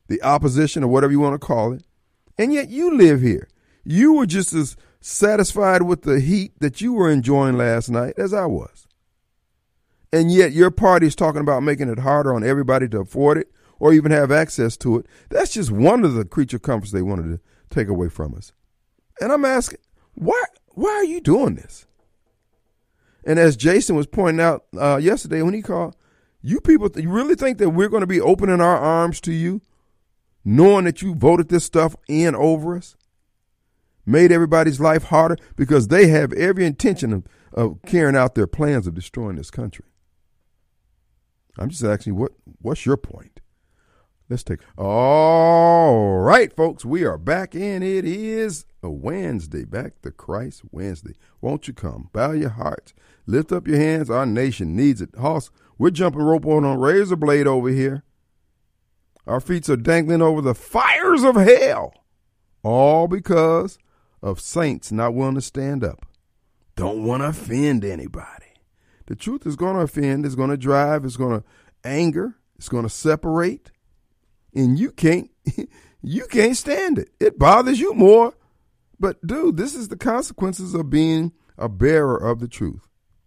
the opposition or whatever you want to call it, and yet you live here. You were just as satisfied with the heat that you were enjoying last night as I was. And yet your party's talking about making it harder on everybody to afford it or even have access to it. That's just one of the creature comforts they wanted to take away from us. And I'm asking, why, why are you doing this? And as Jason was pointing out uh, yesterday when he called, you people, you really think that we're going to be opening our arms to you, knowing that you voted this stuff in over us, made everybody's life harder, because they have every intention of, of carrying out their plans of destroying this country. I'm just asking, what what's your point? Let's take. All right, folks, we are back, and it is a Wednesday, back to Christ Wednesday. Won't you come? Bow your hearts. Lift up your hands. Our nation needs it. Hoss, we're jumping rope on a razor blade over here. Our feet are dangling over the fires of hell, all because of saints not willing to stand up. Don't want to offend anybody. The truth is going to offend, it's going to drive, it's going to anger, it's going to separate, and you can't, you can't stand it. It bothers you more. But, dude, this is the consequences of being a bearer of the truth.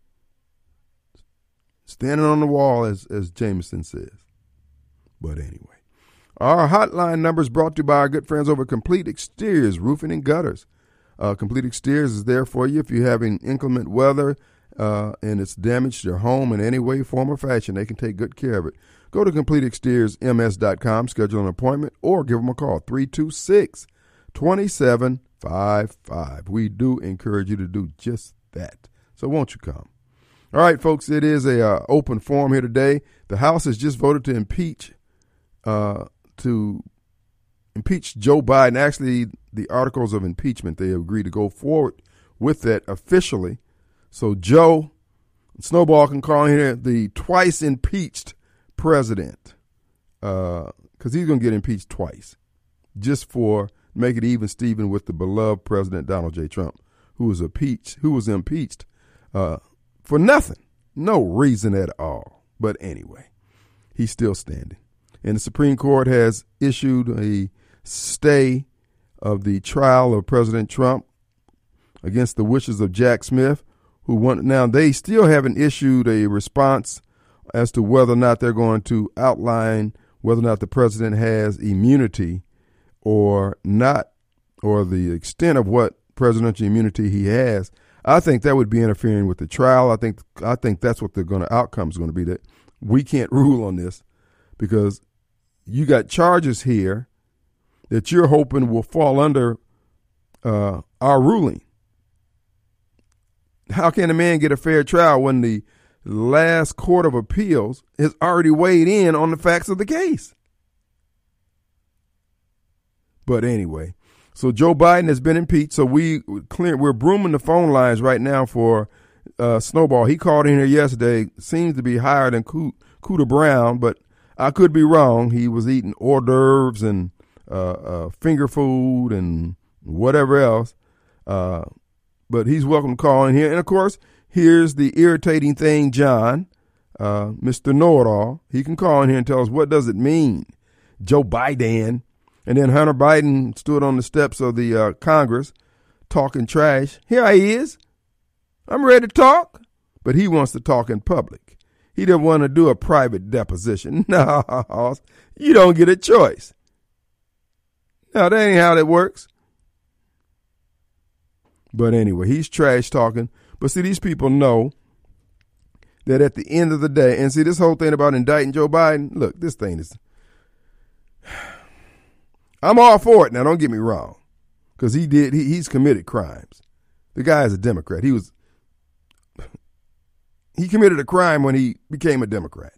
Standing on the wall, as, as Jameson says. But anyway, our hotline number is brought to you by our good friends over at Complete Exteriors, Roofing and Gutters. Uh, Complete Exteriors is there for you if you're having inclement weather uh, and it's damaged your home in any way, form, or fashion. They can take good care of it. Go to complete exteriors m s dot com, schedule an appointment, or give them a call, three two six, two seven five five. We do encourage you to do just that. So won't you come? All right, folks, it is a uh, open forum here today. The House has just voted to impeach uh, to impeach Joe Biden. Actually, the articles of impeachment, they agreed to go forward with that officially. So Joe Snowball can call here the twice impeached president, because uh, he's going to get impeached twice, just for make it even Steven with the beloved President Donald J. Trump, who was impeached, who was impeached uh, for nothing, no reason at all. But anyway, he's still standing. And the Supreme Court has issued a stay of the trial of President Trump against the wishes of Jack Smith, who want, now they still haven't issued a response as to whether or not they're going to outline whether or not the president has immunity or not, or the extent of what presidential immunity he has. I think that would be interfering with the trial. I think I think that's what the gonna outcome is going to be, that we can't rule on this because you got charges here that you're hoping will fall under uh, our ruling. How can a man get a fair trial when the last court of appeals has already weighed in on the facts of the case? But anyway, so Joe Biden has been impeached. So we clear, we're brooming the phone lines right now for uh, Snowball. He called in here yesterday. Seems to be higher than Cooter Brown, but I could be wrong. He was eating hors d'oeuvres and uh, uh, finger food and whatever else. Uh, but he's welcome to call in here. And of course, here's the irritating thing, John, uh, Mister Know-it-all. He can call in here and tell us, what does it mean, Joe Biden? And then Hunter Biden stood on the steps of the uh, Congress talking trash. Here he is. I'm ready to talk. But he wants to talk in public. He didn't want to do a private deposition. No, you don't get a choice. No, that ain't how that works. But anyway, he's trash talking. But see, these people know that at the end of the day, and see, this whole thing about indicting Joe Biden, look, this thing is, I'm all for it. Now, don't get me wrong, because he did, he, he's committed crimes. The guy is a Democrat. He was, he committed a crime when he became a Democrat.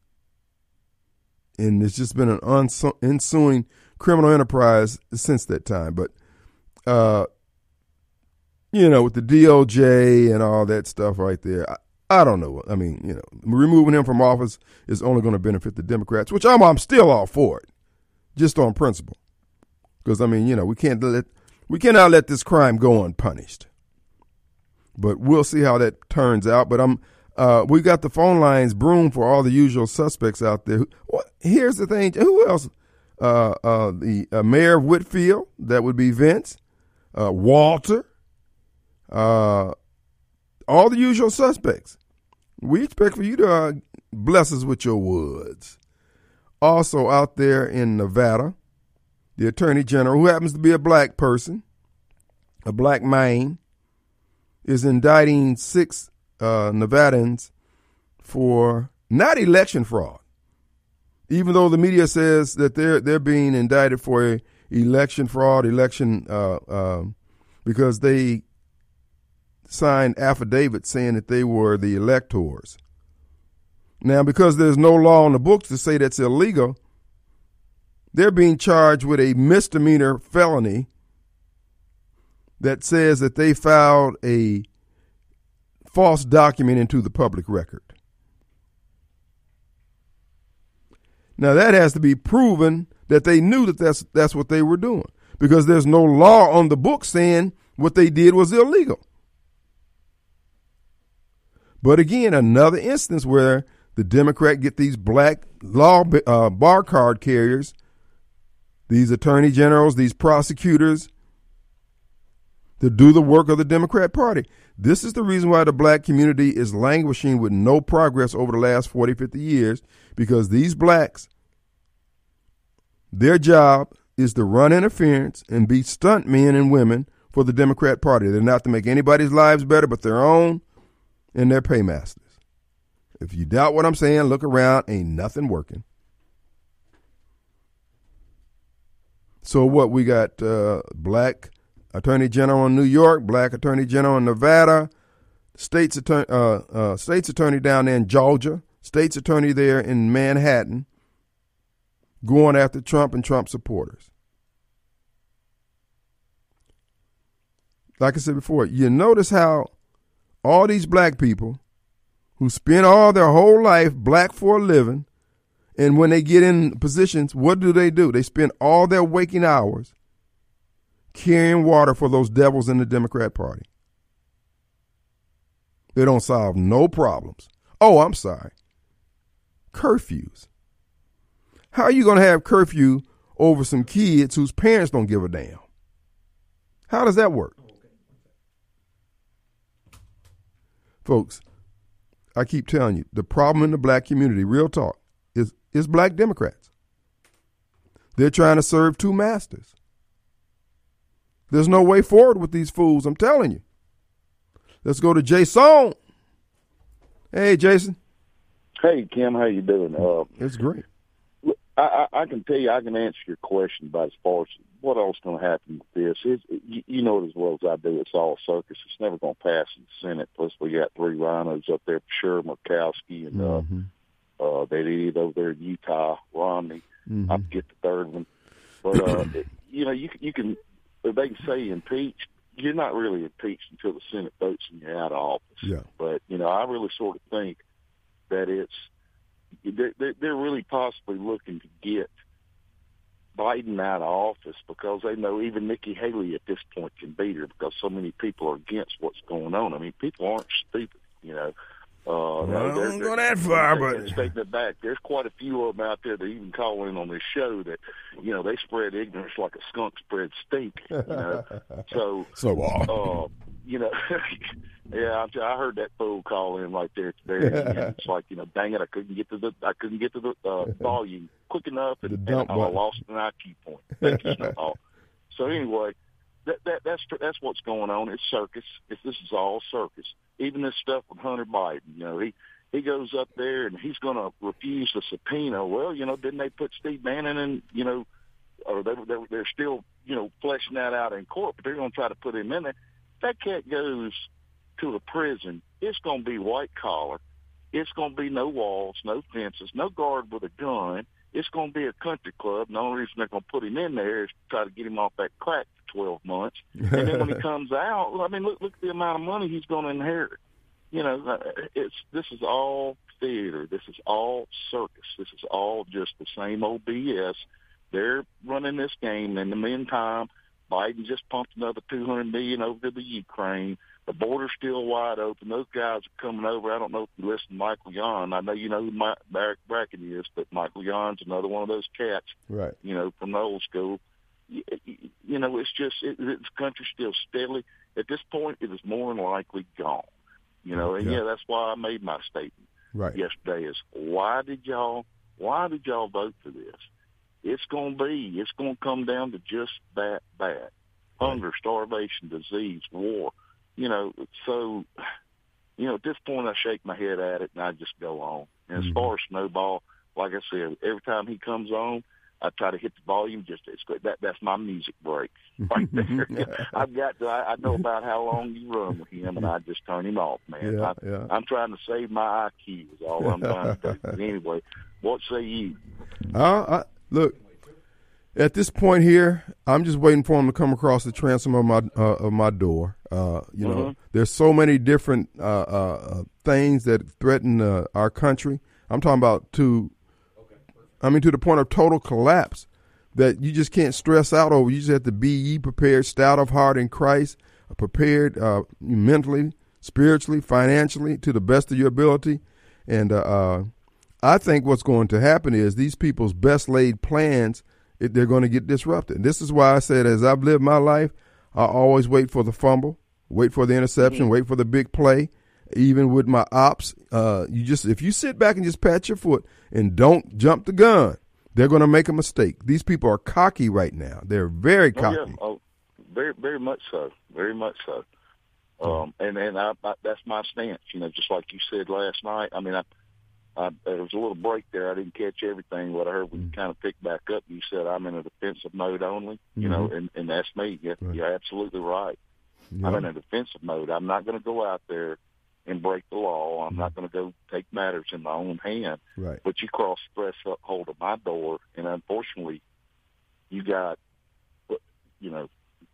And it's just been an ensuing criminal enterprise since that time. But, uh, you know, with the D O J and all that stuff right there, I, I don't know. I mean, you know, removing him from office is only going to benefit the Democrats, which I'm, I'm still all for it, just on principle. Because, I mean, you know, we can't let, we cannot let this crime go unpunished. But we'll see how that turns out. But I'm, uh, we got the phone lines broomed for all the usual suspects out there. What, here's the thing. Who else? uh, uh, the uh, mayor of Whitfield, that would be Vince, uh, Walter, uh, all the usual suspects. We expect for you to uh, bless us with your words. Also out there in Nevada, the Attorney General, who happens to be a black person, a black man, is indicting six uh, Nevadans for not election fraud, even though the media says that they're they're being indicted for election fraud, election uh, uh, because they signed affidavits saying that they were the electors. Now, because there's no law in the books to say that's illegal, they're being charged with a misdemeanor felony that says that they filed a false document into the public record. Now, that has to be proven that they knew that that's, that's what they were doing, because there's no law on the book saying what they did was illegal. But again, another instance where the Democrat get these black law uh, bar card carriers, these attorney generals, these prosecutors, to do the work of the Democrat Party. This is the reason why the black community is languishing with no progress over the last forty, fifty years, because these blacks, their job is to run interference and be stunt men and women for the Democrat Party. They're not to make anybody's lives better but their own and their paymasters. If you doubt what I'm saying, look around. Ain't nothing working. So what, we got uh, black Attorney General in New York, black Attorney General in Nevada, state's attorney, uh, uh, state's attorney down there in Georgia, state's attorney there in Manhattan, going after Trump and Trump supporters. Like I said before, you notice how all these black people who spend all their whole life black for a living, and when they get in positions, what do they do? They spend all their waking hours carrying water for those devils in the Democrat Party. They don't solve no problems. Oh, I'm sorry. Curfews. How are you going to have curfew over some kids whose parents don't give a damn? How does that work? Folks, I keep telling you, the problem in the black community, real talk, is, is black Democrats. They're trying to serve two masters. There's no way forward with these fools, I'm telling you. Let's go to Jason. Hey, Jason. Hey, Kim, how you doing? Uh, it's great. I, I, I can tell you, I can answer your question about as far as what else going to happen with this. It's, you, you know it as well as I do. It's all circus. It's never going to pass in the Senate. Plus, we got three rhinos up there for sure, Murkowski, and mm-hmm. uh, uh, that idiot over there in Utah, Romney. Mm-hmm. I forget the third one. But, uh, it, you know, you, you can, they can say impeach. You're not really impeached until the Senate votes and you're out of office. Yeah. But, you know, I really sort of think that it's, they're, they're really possibly looking to get Biden out of office because they know even Nikki Haley at this point can beat her because so many people are against what's going on. I mean, people aren't stupid, you know. Uh, well, I they're, don't they're, go that far, they're, but taking it back. There's quite a few of them out there that even call in on this show that, you know, they spread ignorance like a skunk spread stink. You know, so so uh, you know, yeah, I, I heard that fool call in right there today. And it's like, you know, dang it, I couldn't get to the I couldn't get to the uh, volume quick enough, and, and I lost an I Q point. Thank you, Snowball. So anyway, that that that's that's what's going on. It's circus. It's, this is all circus. Even this stuff with Hunter Biden, you know, he he goes up there and he's going to refuse the subpoena. Well, you know, didn't they put Steve Bannon in, you know, or they, they, they're still, you know, fleshing that out in court, but they're going to try to put him in there. If that cat goes to the prison, it's going to be white collar. It's going to be no walls, no fences, no guard with a gun. It's going to be a country club. And the only reason they're going to put him in there is to try to get him off that crack for twelve months. And then when he comes out, well, I mean, look, look at the amount of money he's going to inherit. You know, it's this is all theater. This is all circus. This is all just the same old B S. They're running this game. In the meantime, Biden just pumped another two hundred million dollars over to the Ukraine. The border's still wide open. Those guys are coming over. I don't know if you listen to Michael Yon. I know you know who Mike Bracken is, but Michael Yon's another one of those cats, right? You know, from the old school. You, you know, it's just it, this country's still steadily. At this point, it is more than likely gone. You know, and yeah, yeah that's why I made my statement right. yesterday. Is why did y'all why did y'all vote for this? It's going to be. It's going to come down to just that bad: hunger, starvation, disease, war. You know, so, you know, at this point I shake my head at it and I just go on. And mm-hmm. as far as Snowball, like I said, every time he comes on, I try to hit the volume. Just it's that that's my music break right there. I've got to, I, I know about how long you run with him, and I just turn him off, man. Yeah, I, yeah. I'm trying to save my I Q is all I'm trying to do. But anyway, what say you? Uh, I, look. At this point here, I'm just waiting for him to come across the transom of my uh, of my door. Uh, you mm-hmm. know, there's so many different uh, uh, things that threaten uh, our country. I'm talking about to, I mean, to the point of total collapse that you just can't stress out over. You just have to be ye prepared, stout of heart in Christ, prepared uh, mentally, spiritually, financially, to the best of your ability. And uh, uh, I think what's going to happen is these people's best laid plans, It, they're going to get disrupted. This is why I said, as I've lived my life, I always wait for the fumble, wait for the interception, mm-hmm. wait for the big play. Even with my ops, uh, you just if you sit back and just pat your foot and don't jump the gun, they're going to make a mistake. These people are cocky right now. They're very cocky. Oh, yeah. oh, very, very much so. Very much so. Um, and and I, I, that's my stance. You know, just like you said last night. I mean, I. I, there was a little break there. I didn't catch everything. What I heard when you kind of picked back up, you said I'm in a defensive mode only, you mm-hmm. know, and, and that's me. You're, right. you're absolutely right. Yeah. I'm in a defensive mode. I'm not going to go out there and break the law. I'm mm-hmm. not going to go take matters in my own hand. Right. But you cross the threshold of my door, and unfortunately, you got, you know,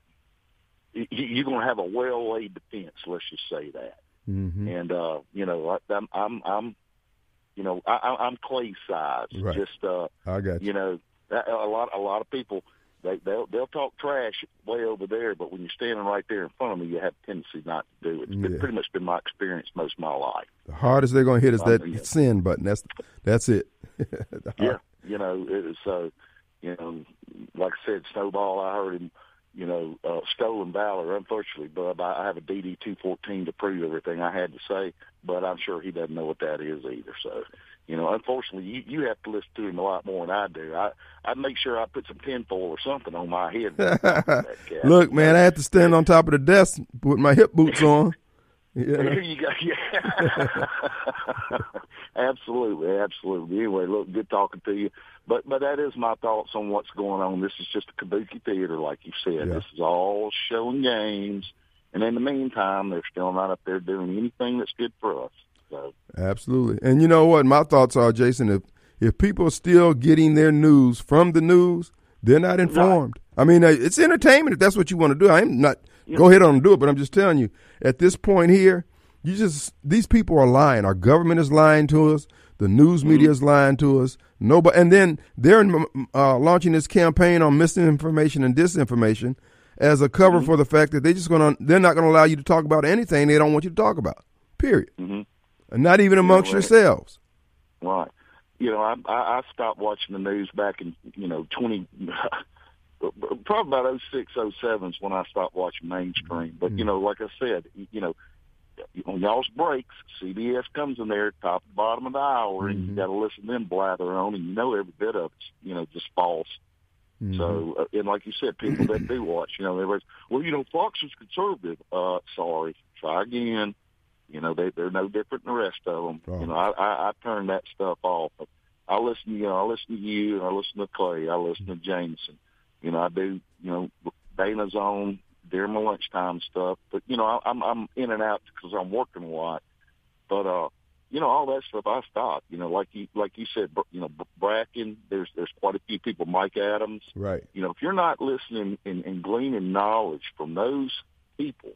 you're going to have a well-laid defense. Let's just say that. Mm-hmm. And uh, you know, I'm, I'm, I'm. You know, I, I'm clay size. Right. Just, uh, I got you. You know, a lot, a lot of people, they, they'll, they'll talk trash way over there, but when you're standing right there in front of me, you have a tendency not to do it. It's yeah. been, pretty much been my experience most of my life. The hardest they're going to hit is that um, yeah. sin button. That's that's it. Yeah, you know, it was, uh, you know, like I said, Snowball, I heard him, you know, uh, stolen valor, unfortunately, but I have a D D two fourteen to prove everything I had to say, but I'm sure he doesn't know what that is either. So, you know, unfortunately, you, you have to listen to him a lot more than I do. I I make sure I put some tinfoil or something on my head. Look, man, I had to stand on top of the desk with my hip boots on. Yeah. you go, yeah. Absolutely, absolutely. Anyway, look, good talking to you. But but that is my thoughts on what's going on. This is just a kabuki theater, like you said. Yeah. This is all show and games. And in the meantime, they're still not up there doing anything that's good for us. So. Absolutely. And you know what? My thoughts are, Jason, if, if people are still getting their news from the news, they're not informed. Right. I mean, it's entertainment if that's what you want to do. I'm not yeah. go ahead on and do it, but I'm just telling you, at this point here, you just these people are lying. Our government is lying to us. The news media is lying to us. Nobody, and then they're uh, launching this campaign on misinformation and disinformation as a cover mm-hmm. for the fact that they're just going to, they're not going to allow you to talk about anything they don't want you to talk about, period. Mm-hmm. And not even amongst yeah, right. yourselves. Right. You know, I, I, I stopped watching the news back in, you know, twenty, probably about oh six, oh seven is when I stopped watching mainstream. But, mm-hmm. you know, like I said, you know, on y'all's breaks, C B S comes in there, top and bottom of the hour, and mm-hmm. you got to listen to them blather on, and you know every bit of it's, you know, just false. Mm-hmm. So, uh, and like you said, people that do watch, you know, everybody's, well, you know, Fox is conservative. Uh, sorry, try again. You know, they, they're no different than the rest of them. Oh. You know, I, I, I turn that stuff off. I listen, you know, I listen to you, and I listen to Clay, I listen to Jameson. You know, I do, you know, Dana's on during my lunchtime stuff. But, you know, I, I'm I'm in and out because I'm working a lot. But, uh, you know, all that stuff I stopped. You know, like you like you said, you know, Bracken, there's there's quite a few people, Mike Adams. Right. You know, if you're not listening and, and gleaning knowledge from those people,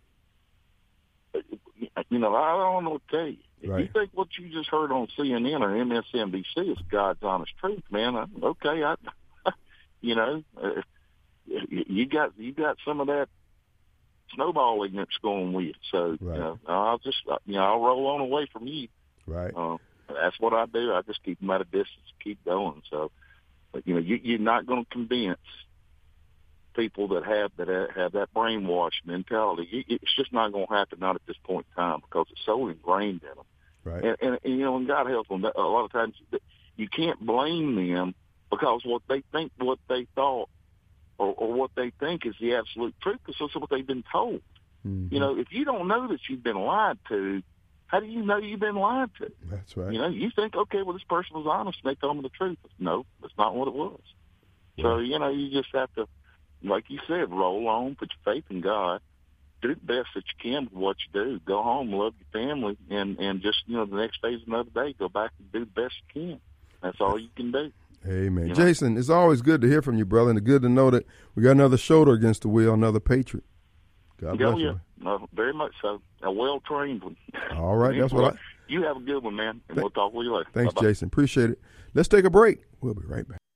you know, I don't know what to tell you. If right. you think what you just heard on C N N or M S N B C is God's honest truth, man, I, okay, I, you know, uh, you got you got some of that snowballing that's going with. So, Right. you know, I'll just, you know, I'll roll on away from you. Right. Uh, that's what I do. I just keep them at a distance, keep going. So, but, you know, you, you're not going to convince people that have that have that brainwashed mentality. It's just not going to happen, not at this point in time, because it's so ingrained in them. Right. And, and, and you know, and God help them. A lot of times, you can't blame them because what they think, what they thought, or, or what they think is the absolute truth, because that's what they've been told. Mm-hmm. You know, if you don't know that you've been lied to, how do you know you've been lied to? That's right. You know, you think, okay, well, this person was honest and they told me the truth. No, that's not what it was. So, you know, you just have to, like you said, roll on, put your faith in God, do the best that you can with what you do. Go home, love your family, and, and just, you know, the next day is another day. Go back and do the best you can. That's all you can do. Amen. You know? Jason, it's always good to hear from you, brother, and good to know that we got another shoulder against the wheel, another patriot. God bless Oh, yeah. you. No, very much so. A well-trained one. All right, that's what I... You have a good one, man, and we'll talk with you later. Thanks, Bye-bye. Jason. Appreciate it. Let's take a break. We'll be right back.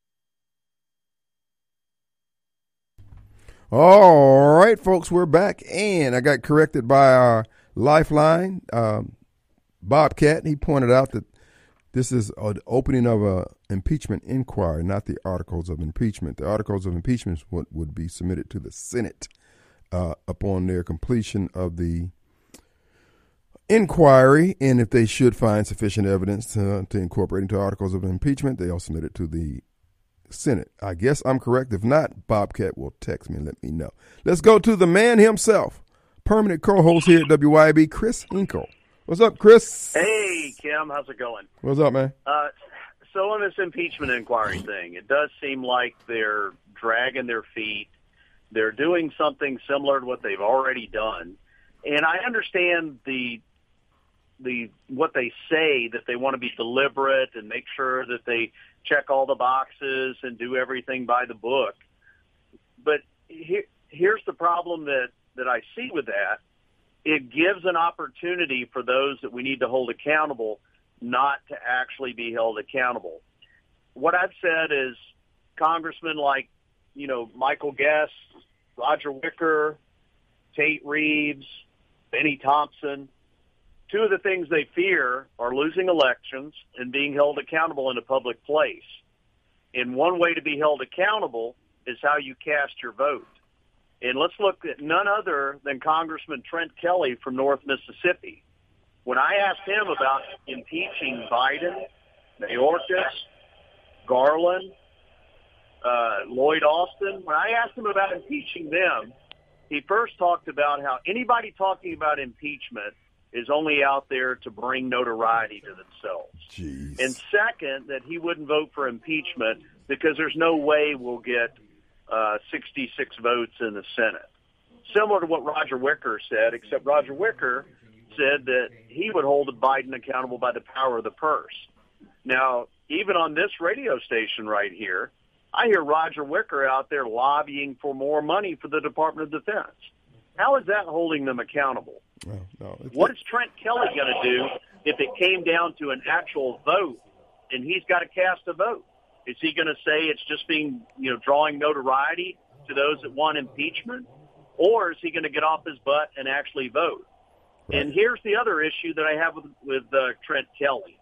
All right, folks, we're back, and I got corrected by our lifeline, um, Bobcat. He pointed out that this is an opening of a impeachment inquiry, not the articles of impeachment. The articles of impeachment would, would be submitted to the Senate uh, upon their completion of the inquiry, and if they should find sufficient evidence to, to incorporate into articles of impeachment, they'll submit it to the Senate. I guess I'm correct. If not, Bobcat will text me and let me know. Let's go to the man himself, permanent co-host here at W Y B, Chris Hinkle. What's up, Chris? Hey, Kim. How's it going? What's up, man? Uh, so on this impeachment inquiry thing, it does seem like they're dragging their feet. They're doing something similar to what they've already done. And I understand the the what they say, that they want to be deliberate and make sure that they check all the boxes and do everything by the book. But here, here's the problem that, that I see with that. It gives an opportunity for those that we need to hold accountable not to actually be held accountable. What I've said is congressmen like, you know, Michael Guest, Roger Wicker, Tate Reeves, Benny Thompson, two of the things they fear are losing elections and being held accountable in a public place. And one way to be held accountable is how you cast your vote. And let's look at none other than Congressman Trent Kelly from North Mississippi. When I asked him about impeaching Biden, Mayorkas, Garland, uh, Lloyd Austin, when I asked him about impeaching them, he first talked about how anybody talking about impeachment is only out there to bring notoriety to themselves. Jeez. And second, that he wouldn't vote for impeachment because there's no way we'll get uh, sixty-six votes in the Senate. Similar to what Roger Wicker said, except Roger Wicker said that he would hold Biden accountable by the power of the purse. Now, even on this radio station right here, I hear Roger Wicker out there lobbying for more money for the Department of Defense. How is that holding them accountable? No, no, What is Trent Kelly going to do if it came down to an actual vote and he's got to cast a vote? Is he going to say it's just being, you know, drawing notoriety to those that want impeachment? Or is he going to get off his butt and actually vote? Right. And here's the other issue that I have with, with uh, Trent Kelly.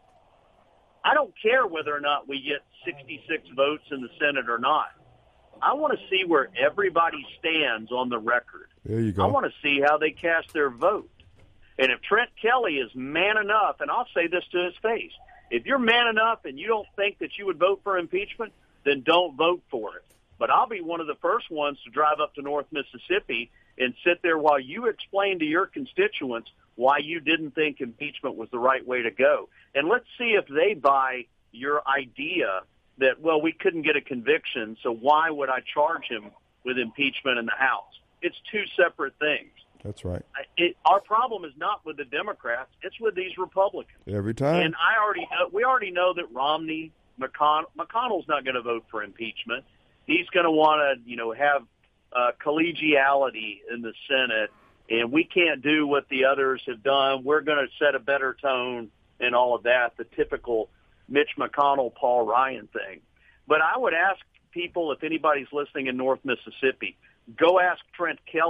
I don't care whether or not we get sixty-six votes in the Senate or not. I want to see where everybody stands on the record. There you go. I want to see how they cast their vote. And if Trent Kelly is man enough, and I'll say this to his face, if you're man enough and you don't think that you would vote for impeachment, then don't vote for it. But I'll be one of the first ones to drive up to North Mississippi and sit there while you explain to your constituents why you didn't think impeachment was the right way to go. And let's see if they buy your idea that, well, we couldn't get a conviction, so why would I charge him with impeachment in the House? It's two separate things. That's right. It, our problem is not with the Democrats; it's with these Republicans. Every time. And I already know, we already know that Romney, McConnell, McConnell's not going to vote for impeachment. He's going to want to, you know, have uh, collegiality in the Senate, and we can't do what the others have done. We're going to set a better tone and all of that. The typical Mitch McConnell, Paul Ryan thing. But I would ask people, if anybody's listening in North Mississippi, go ask Trent Kelly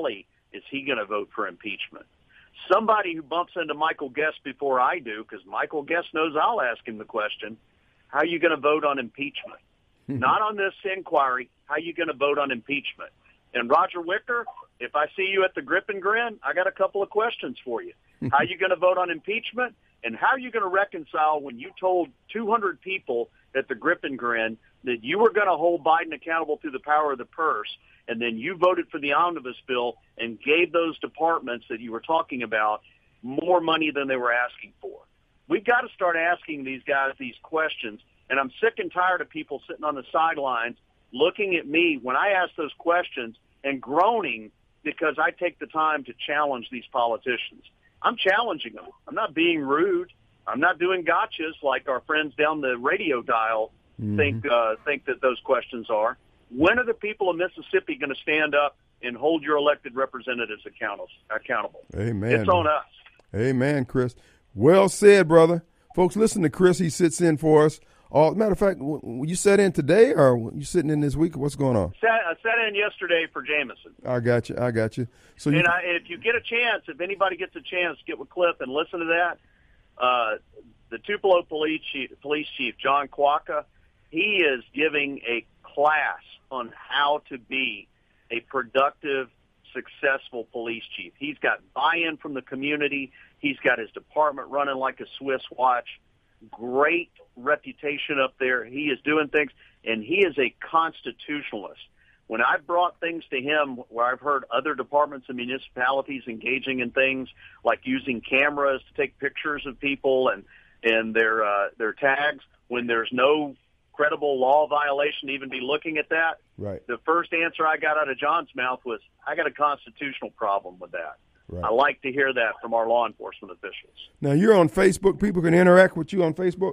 is he going to vote for impeachment? Somebody who bumps into Michael Guest before I do, because Michael Guest knows I'll ask him the question, how are you going to vote on impeachment? Not on this inquiry. How are you going to vote on impeachment? And Roger Wicker, if I see you at the Grip and Grin, I got a couple of questions for you. How are you going to vote on impeachment? And how are you going to reconcile when you told two hundred people at the Grip and Grin that you were going to hold Biden accountable through the power of the purse, and then you voted for the omnibus bill and gave those departments that you were talking about more money than they were asking for? We've got to start asking these guys these questions, and I'm sick and tired of people sitting on the sidelines looking at me when I ask those questions and groaning because I take the time to challenge these politicians. I'm challenging them. I'm not being rude. I'm not doing gotchas like our friends down the radio dial mm-hmm. think uh, think that those questions are. When are the people of Mississippi going to stand up and hold your elected representatives accountable? accountable? Amen. It's on us. Amen, Chris. Well said, brother. Folks, listen to Chris. He sits in for us. All, matter of fact, you sat in today or you sitting in this week? What's going on? Sat, I sat in yesterday for Jameson. I got you. I got you. So, you, and I, if you get a chance, if anybody gets a chance, get with Cliff and listen to that. Uh, the Tupelo police chief, police chief, John Quaka, he is giving a class on how to be a productive, successful police chief. He's got buy-in from the community. He's got his department running like a Swiss watch. Great reputation up there. He is doing things, and he is a constitutionalist. When I brought things to him where I've heard other departments and municipalities engaging in things like using cameras to take pictures of people and, and their uh, their tags, when there's no credible law violation to even be looking at that, right. The first answer I got out of John's mouth was, I got a constitutional problem with that. Right. I like to hear that from our law enforcement officials. Now, you're on Facebook. People can interact with you on Facebook?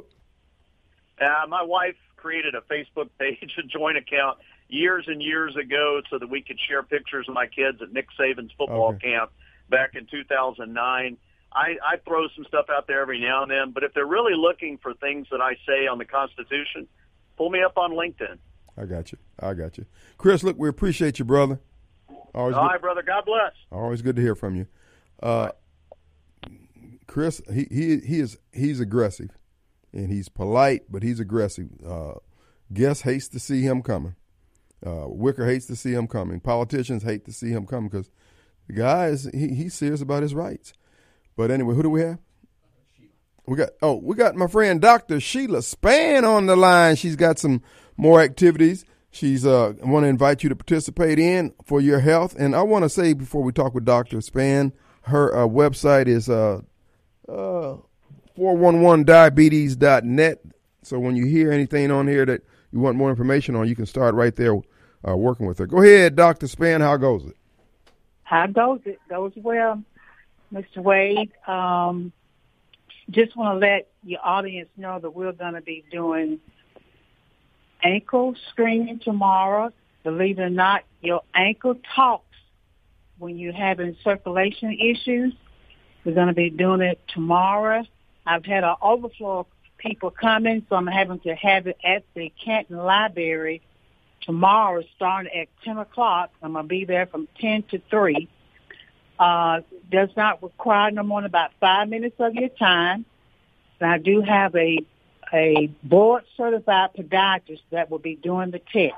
Uh, my wife created a Facebook page, a joint account, years and years ago so that we could share pictures of my kids at Nick Saban's football Okay. camp back in two thousand nine. I, I throw some stuff out there every now and then, but if they're really looking for things that I say on the Constitution, pull me up on LinkedIn. I got you. I got you. Chris, look, we appreciate you, brother. Always All good, right, brother. God bless. Always good to hear from you. Uh, Chris, he, he he is he's aggressive, and he's polite, but he's aggressive. Uh, Guest hates to see him coming. Uh, Wicker hates to see him coming. Politicians hate to see him coming because the guy is he, he's serious about his rights. But anyway, who do we have? We got oh, we got my friend Doctor Sheila Spann on the line. She's got some more activities. She's uh want to invite you to participate in for your health. And I want to say before we talk with Doctor Spann, her uh, website is uh uh four one one diabetes dot net. So when you hear anything on here that you want more information on, you can start right there uh, working with her. Go ahead, Doctor Spann. How goes it? How goes it? Goes well, Mister Wade. Um, just want to let your audience know that we're going to be doing ankle screening tomorrow. Believe it or not, your ankle talks when you're having circulation issues. We're going to be doing it tomorrow. I've had an overflow of people coming, so I'm having to have it at the Canton Library tomorrow starting at ten o'clock. I'm going to be there from ten to three. Uh, does not require no more than about five minutes of your time. And I do have a a board-certified podiatrist that will be doing the test.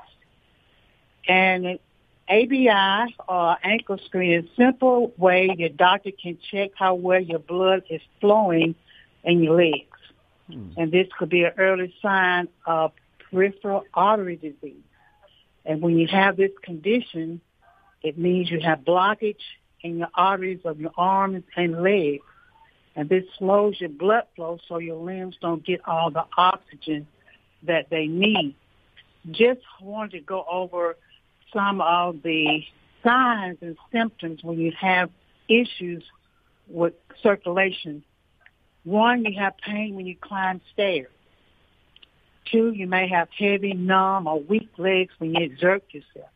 And A B I, or ankle screen, is a simple way your doctor can check how well your blood is flowing in your legs. Hmm. And this could be an early sign of peripheral artery disease. And when you have this condition, it means you have blockage in your arteries of your arms and legs. And this slows your blood flow so your limbs don't get all the oxygen that they need. Just wanted to go over some of the signs and symptoms when you have issues with circulation. One, you have pain when you climb stairs. Two, you may have heavy, numb, or weak legs when you exert yourself.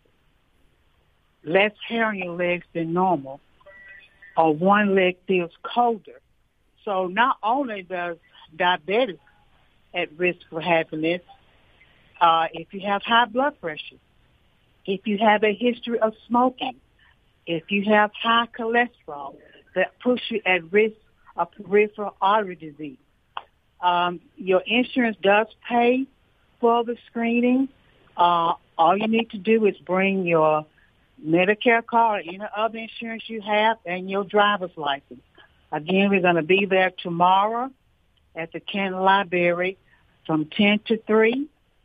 Less hair on your legs than normal. Or one leg feels colder. So not only does diabetes at risk for having this, uh, if you have high blood pressure, if you have a history of smoking, if you have high cholesterol, that puts you at risk of peripheral artery disease. Um, your insurance does pay for the screening. Uh, all you need to do is bring your Medicare card or any other insurance you have and your driver's license. Again, we're going to be there tomorrow at the Canton Library from ten to three.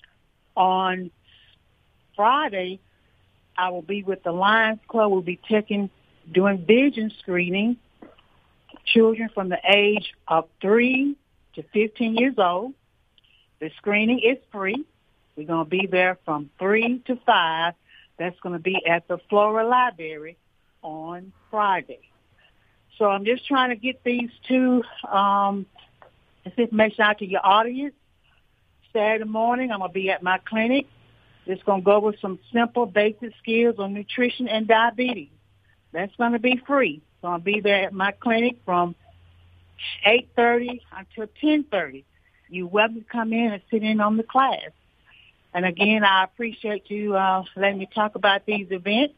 On Friday, I will be with the Lions Club. We'll be taking, doing vision screening, children from the age of three to fifteen years old. The screening is free. We're going to be there from three to five. That's going to be at the Flora Library on Friday. So I'm just trying to get these two, um, this information out to your audience. Saturday morning, I'm going to be at my clinic. Just going to go over some simple basic skills on nutrition and diabetes. That's going to be free. So I'll be there at my clinic from eight thirty until ten thirty. You're welcome to come in and sit in on the class. And again, I appreciate you uh, letting me talk about these events.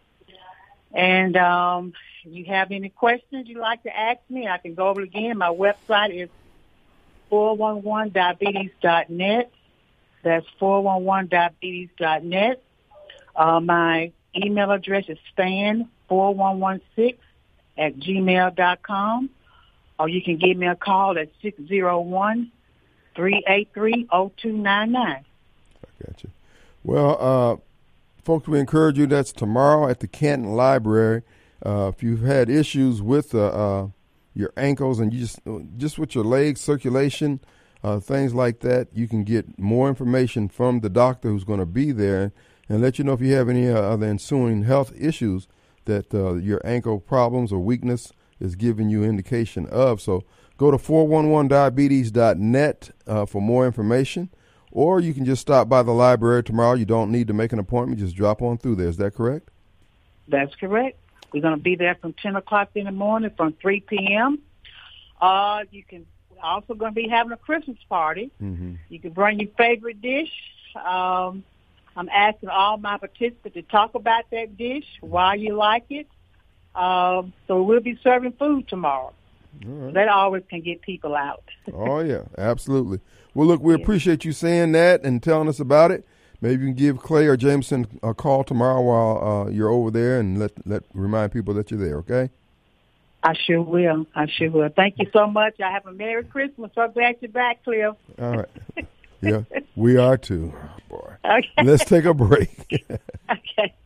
And um, if you have any questions you'd like to ask me, I can go over it again. My website is four one one diabetes dot net. That's four one one diabetes dot net. Uh, my email address is span four one one six at gmail dot com. Or you can give me a call at six zero one, three eight three, zero two nine nine. I got you. Well, uh, folks, we encourage you. That's tomorrow at the Canton Library. Uh, if you've had issues with uh, uh, your ankles and you just just with your legs, circulation, uh, things like that, you can get more information from the doctor who's going to be there and let you know if you have any uh, other ensuing health issues that uh, your ankle problems or weakness is giving you indication of. So go to four one one diabetes dot net uh, for more information, or you can just stop by the library tomorrow. You don't need to make an appointment. Just drop on through there. Is that correct? That's correct. We're going to be there from ten o'clock in the morning from three p.m. Uh, you can also going to be having a Christmas party. Mm-hmm. You can bring your favorite dish. Um, I'm asking all my participants to talk about that dish, why you like it. Um, so we'll be serving food tomorrow. All right. That always can get people out. Oh, yeah, absolutely. Well, look, we yeah. appreciate you saying that and telling us about it. Maybe you can give Clay or Jameson a call tomorrow while uh, you're over there and let let remind people that you're there, okay? I sure will. I sure will. Thank you so much. I have a Merry Christmas. So glad you're back, Cliff. All right. Yeah, we are too. Oh, boy. Okay. Let's take a break. Okay.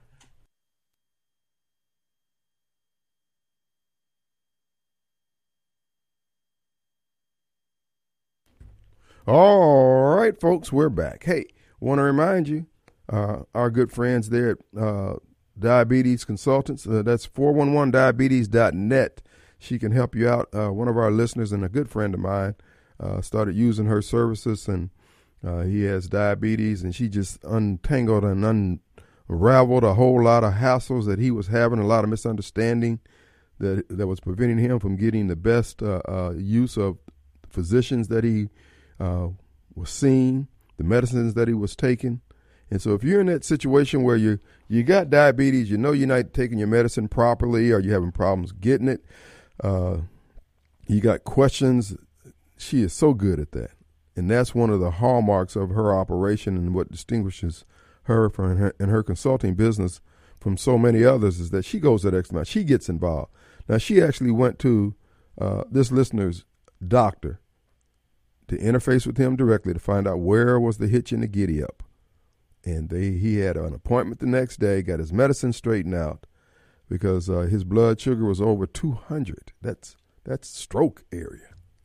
All right, folks, we're back. Hey, want to remind you, uh, our good friends there at uh, Diabetes Consultants, uh, that's four one one diabetes dot net. She can help you out. Uh, one of our listeners and a good friend of mine uh, started using her services, and uh, he has diabetes, and she just untangled and unraveled a whole lot of hassles that he was having, a lot of misunderstanding that that was preventing him from getting the best uh, uh, use of physicians that he uh, was seeing, the medicines that he was taking. And so if you're in that situation where you you got diabetes, you know you're not taking your medicine properly, or you're having problems getting it, uh, you got questions, she is so good at that. And that's one of the hallmarks of her operation and what distinguishes her from her, in her consulting business from so many others is that she goes that extra mile. She gets involved. Now, she actually went to uh, this listener's doctor to interface with him directly to find out where was the hitch in the giddy up. And they he had an appointment the next day, got his medicine straightened out because uh, his blood sugar was over two hundred. That's that's stroke area.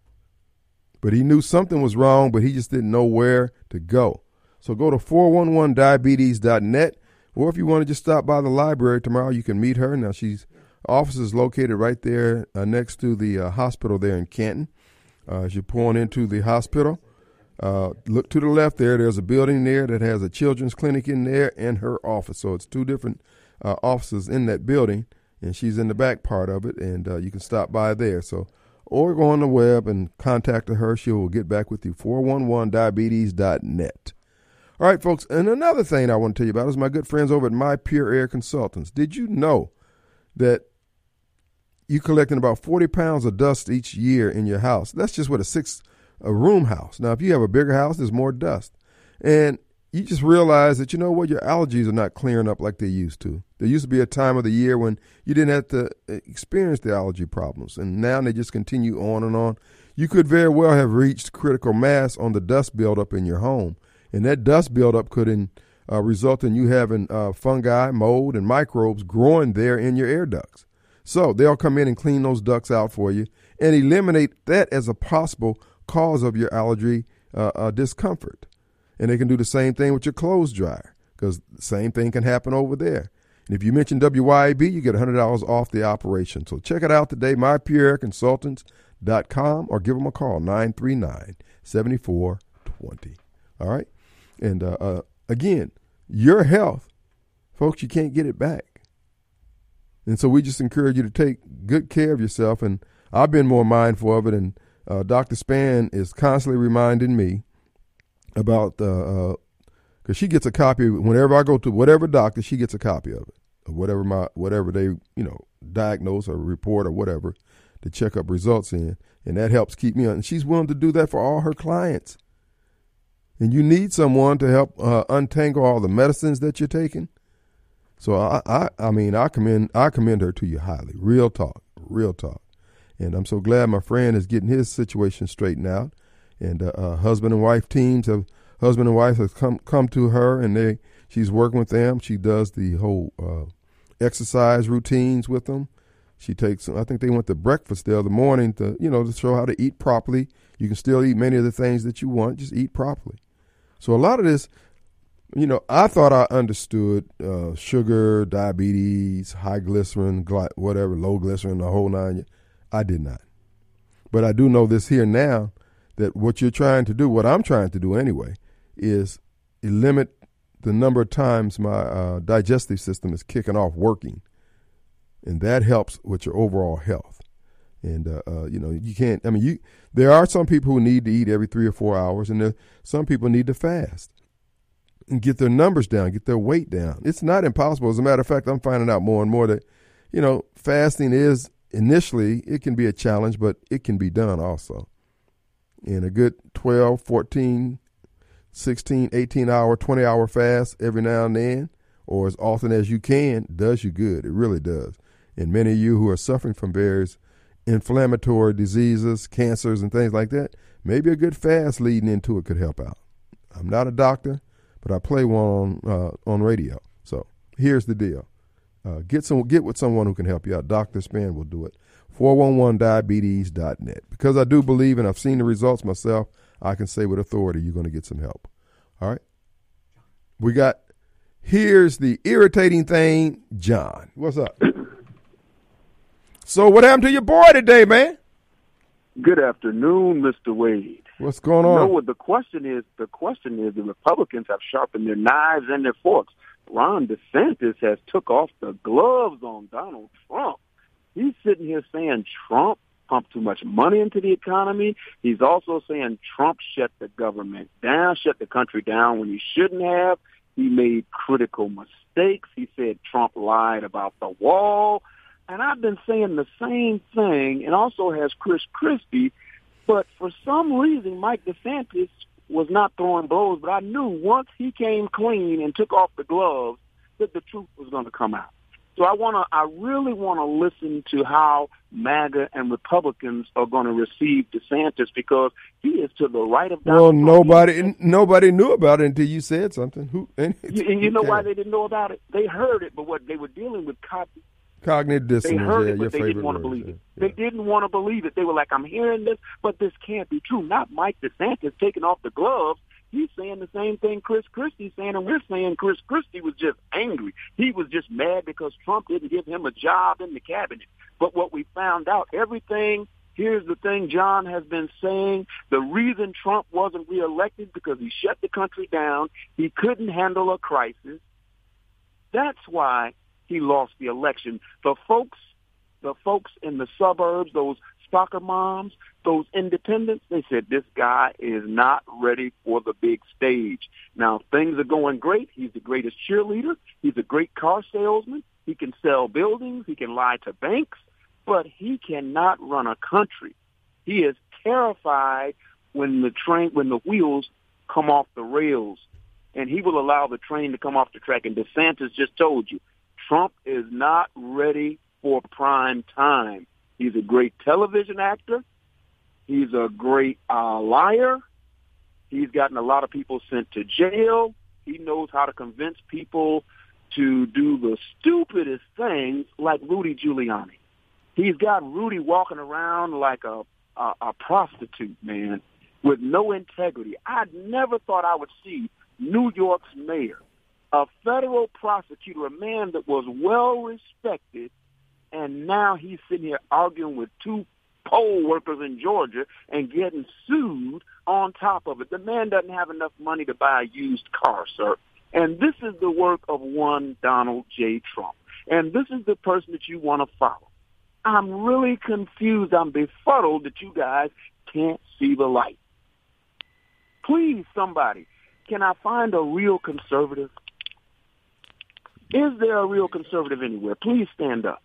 But he knew something was wrong, but he just didn't know where to go. So go to four one one diabetes dot net, or if you want to just stop by the library tomorrow, you can meet her. Now, she's office is located right there uh, next to the uh, hospital there in Canton. Uh, as you're pulling into the hospital, uh, look to the left there. There's a building there that has a children's clinic in there and her office. So it's two different uh, offices in that building, and she's in the back part of it, and uh, you can stop by there. So, or go on the web and contact her. She will get back with you, four one one diabetes dot net. All right, folks, and another thing I want to tell you about is my good friends over at My Pure Air Consultants. Did you know that you collecting about forty pounds of dust each year in your house. That's just with a six a room house. Now, if you have a bigger house, there's more dust. And you just realize that, you know what, your allergies are not clearing up like they used to. There used to be a time of the year when you didn't have to experience the allergy problems, and now they just continue on and on. You could very well have reached critical mass on the dust buildup in your home, and that dust buildup could in, uh, result in you having uh, fungi, mold, and microbes growing there in your air ducts. So they'll come in and clean those ducts out for you and eliminate that as a possible cause of your allergy uh, uh, discomfort. And they can do the same thing with your clothes dryer, because the same thing can happen over there. And if you mention W Y A B, you get one hundred dollars off the operation. So check it out today, my pure air consultants dot com, or give them a call, nine three nine, seven four two zero. All right? And uh, uh, again, your health, folks, you can't get it back. And so we just encourage you to take good care of yourself. And I've been more mindful of it. And uh, Doctor Span is constantly reminding me about, uh, uh, cause she gets a copy whenever I go to whatever doctor, she gets a copy of it, of whatever my, whatever they, you know, diagnose or report or whatever to check up results in. And that helps keep me on. And she's willing to do that for all her clients. And you need someone to help uh, untangle all the medicines that you're taking. So I, I, I mean, I commend, I commend her to you highly. Real talk, real talk. And I'm so glad my friend is getting his situation straightened out. And uh, uh, husband and wife teams have husband and wife have come come to her, and they she's working with them. She does the whole uh, exercise routines with them. She takes. I think they went to breakfast the other morning to you know to show how to eat properly. You can still eat many of the things that you want. Just eat properly. So a lot of this, you know, I thought I understood uh, sugar, diabetes, high glycerin, gly- whatever, low glycerin, the whole nine. I did not, but I do know this here now. That what you're trying to do, what I'm trying to do anyway, is limit the number of times my uh, digestive system is kicking off working. And that helps with your overall health. And, uh, uh, you know, you can't, I mean, you. there are some people who need to eat every three or four hours, and there, some people need to fast and get their numbers down, get their weight down. It's not impossible. As a matter of fact, I'm finding out more and more that, you know, fasting is initially, it can be a challenge, but it can be done also. In a good twelve, fourteen, sixteen, eighteen hour, twenty hour fast every now and then, or as often as you can, does you good. It really does. And many of you who are suffering from various inflammatory diseases, cancers, and things like that, maybe a good fast leading into it could help out. I'm not a doctor, but I play one on, uh, on radio. So here's the deal. Uh, get some, get with someone who can help you out. Doctor Span will do it. four one one diabetes dot net. Because I do believe, and I've seen the results myself, I can say with authority you're going to get some help. All right? We got, here's the irritating thing, John. What's up? So what happened to your boy today, man? Good afternoon, Mister Wade. What's going on? You know what the question is? The question is the Republicans have sharpened their knives and their forks. Ron DeSantis has took off the gloves on Donald Trump. He's sitting here saying Trump pumped too much money into the economy. He's also saying Trump shut the government down, shut the country down when he shouldn't have. He made critical mistakes. He said Trump lied about the wall. And I've been saying the same thing, and also has Chris Christie. But for some reason, Mike DeSantis was not throwing blows. But I knew once he came clean and took off the gloves that the truth was going to come out. So I want to, I really want to listen to how MAGA and Republicans are going to receive DeSantis, because he is to the right of Donald Well, Trump. nobody, nobody knew about it until you said something. Who? And You, and you know why they didn't know about it? They heard it, but what they were dealing with cognitive. Cognitive dissonance. They heard yeah, it, your but they favorite didn't want to word, believe yeah. it. They didn't want to believe it. They were like, I'm hearing this, but this can't be true. Not Mike DeSantis taking off the gloves. He's saying the same thing Chris Christie's saying, and we're saying Chris Christie was just angry. He was just mad because Trump didn't give him a job in the cabinet. But what we found out, everything, here's the thing John has been saying, the reason Trump wasn't reelected because he shut the country down. He couldn't handle a crisis. That's why he lost the election. The folks, the folks in the suburbs, those soccer moms, those independents, they said this guy is not ready for the big stage. Now, things are going great. He's the greatest cheerleader. He's a great car salesman. He can sell buildings. He can lie to banks, but he cannot run a country. He is terrified when the train, when the wheels come off the rails, and he will allow the train to come off the track. And DeSantis just told you, Trump is not ready for prime time. He's a great television actor. He's a great uh, liar. He's gotten a lot of people sent to jail. He knows how to convince people to do the stupidest things like Rudy Giuliani. He's got Rudy walking around like a, a, a prostitute, man, with no integrity. I never thought I would see New York's mayor, a federal prosecutor, a man that was well respected, and now he's sitting here arguing with two poll workers in Georgia and getting sued on top of it. The man doesn't have enough money to buy a used car, sir. And this is the work of one Donald J. Trump. And this is the person that you want to follow. I'm really confused. I'm befuddled that you guys can't see the light. Please, somebody, can I find a real conservative? Is there a real conservative anywhere? Please stand up.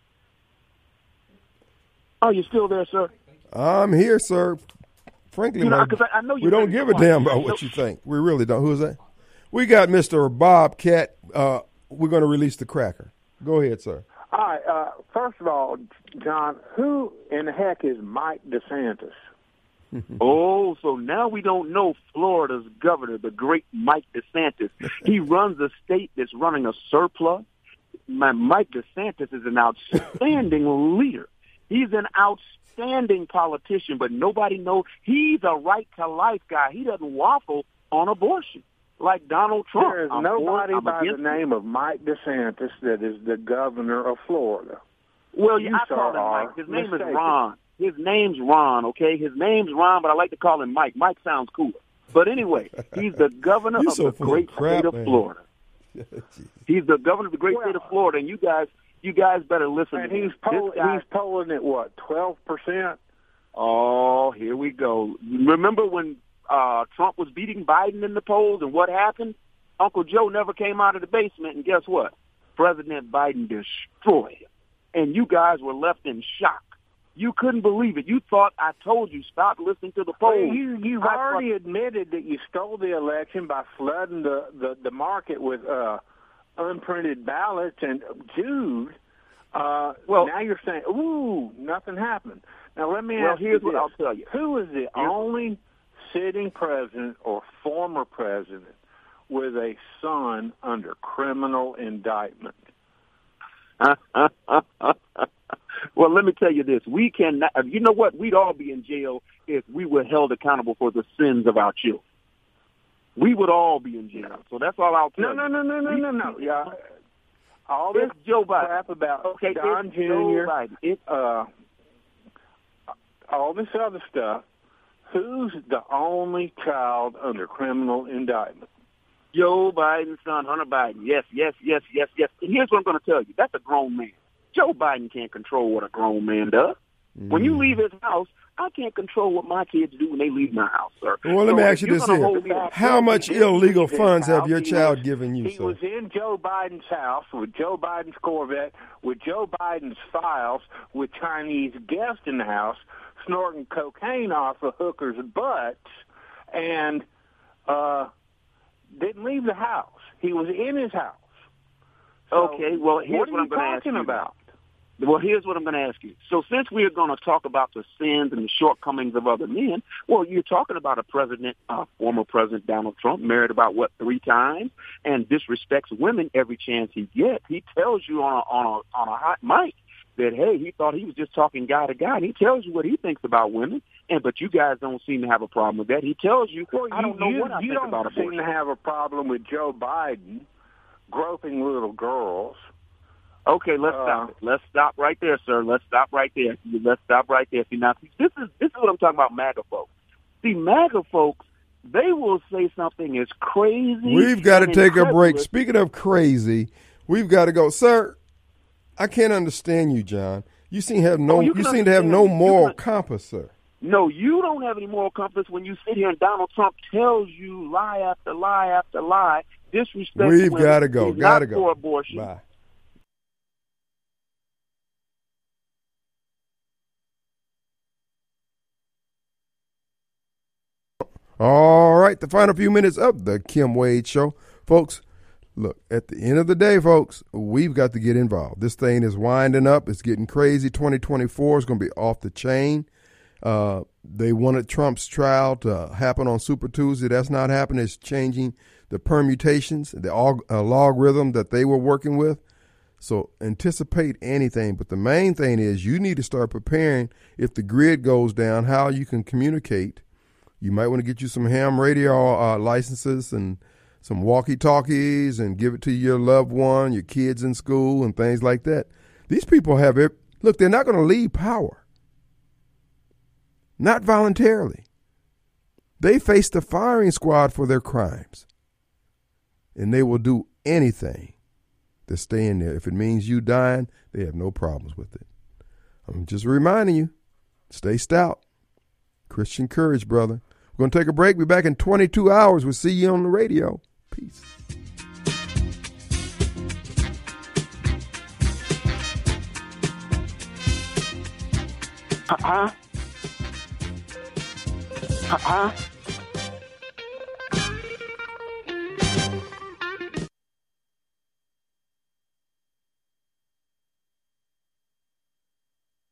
Are you still there, sir? I'm here, sir. Frankly, You know, my- 'cause I- I know we you're don't very give a quiet. damn about what you think. We really don't. Who is that? We got Mister Bobcat. Uh, we're going to release the cracker. Go ahead, sir. All right. Uh, first of all, John, who in the heck is Mike DeSantis? Oh, so now we don't know Florida's governor, the great Mike DeSantis. He runs a state that's running a surplus. My, Mike DeSantis is an outstanding leader. He's an outstanding politician, but nobody knows. He's a right-to-life guy. He doesn't waffle on abortion like Donald Trump. There is I'm nobody for, I'm by the against it. name of Mike DeSantis that is the governor of Florida. Well, You, yeah, I sir, call him are Mike. His name mistaken. is Ron. His name's Ron, okay? His name's Ron, but I like to call him Mike. Mike sounds cooler. But anyway, he's the governor You of so the full of great crap, state of man. Florida. He's the governor of the great state of Florida, and you guys, you guys better listen And to me. he's poll- This guy- he's polling at what, twelve percent? Oh, here we go. Remember when uh, Trump was beating Biden in the polls, and what happened? Uncle Joe never came out of the basement, and guess what? President Biden destroyed him, and you guys were left in shock. You couldn't believe it. You thought I told you stop listening to the Well, polls. you, you've I already admitted that you stole the election by flooding the, the, the market with uh, unprinted ballots. And, Jude, uh, Well- now you're saying, ooh, nothing happened. Now, let me Well, ask here's you what this. I'll tell you. Who is the only sitting president or former president with a son under criminal indictment? Well, let me tell you this. We cannot, you know what? We'd all be in jail if we were held accountable for the sins of our children. We would all be in jail. So that's all I'll tell No, you. no, no, no, no, We- no, no. Yeah. All this It's Joe Biden. crap about Okay, Don it's Joe Junior, Biden. It's uh, all this other stuff. Who's the only child under criminal indictment? Joe Biden's son, Hunter Biden. Yes, yes, yes, yes, yes. And here's what I'm going to tell you. That's a grown man. Joe Biden can't control what a grown man does. When you leave his house, I can't control what my kids do when they leave my house, sir. Well, let me So ask if you you're this gonna here. hold me- How much He didn't illegal leave his funds have house. your He child was- given you, He sir? was in Joe Biden's house with Joe Biden's Corvette, with Joe Biden's files, with Chinese guests in the house, snorting cocaine off of hookers' butts, and uh, didn't leave the house. He was in his house. So Okay, well, here's what are what I'm you going to ask talking you. about? Well, here's what I'm going to ask you. So since we are going to talk about the sins and the shortcomings of other men, well, you're talking about a president, uh, former President Donald Trump, married about, what, three times, and disrespects women every chance he gets. He tells you on a, on a, on a hot mic that, hey, he thought he was just talking guy to guy, and he tells you what he thinks about women, and but you guys don't seem to have a problem with that. He tells you, Well, I don't know you, what I you think don't about seem abortion. to have a problem with Joe Biden groping little girls. Okay, let's Uh, stop it. Let's stop right there, sir. Let's stop right there. Let's stop right there. See, now, this is this is what I'm talking about, MAGA folks. See, MAGA folks, they will say something as crazy. We've got to and take a break. incredulous. Speaking of crazy, we've got to go, sir. I can't understand you, John. You seem to have no. Oh, you you can seem to have understand no me. You moral can- compass, sir. No, you don't have any moral compass when you sit here and Donald Trump tells you lie after lie after lie, disrespect. We've women, got to go. he's Got to not go. for abortion. Bye. All right, the final few minutes of the Kim Wade Show. Folks, look, at the end of the day, folks, we've got to get involved. This thing is winding up. It's getting crazy. twenty twenty-four is going to be off the chain. Uh, they wanted Trump's trial to happen on Super Tuesday. That's not happening. It's changing the permutations, the uh, logarithm that they were working with. So anticipate anything. But the main thing is you need to start preparing if the grid goes down, how you can communicate. You might want to get you some ham radio uh, licenses and some walkie-talkies and give it to your loved one, your kids in school and things like that. These people have it. Look, they're not going to leave power. Not voluntarily. They face the firing squad for their crimes. And they will do anything to stay in there. If it means you dying, they have no problems with it. I'm just reminding you, stay stout. Christian courage, brother. We're going to take a break. We'll be back in twenty-two hours. We'll see you on the radio. Peace. Uh-huh. Uh-huh.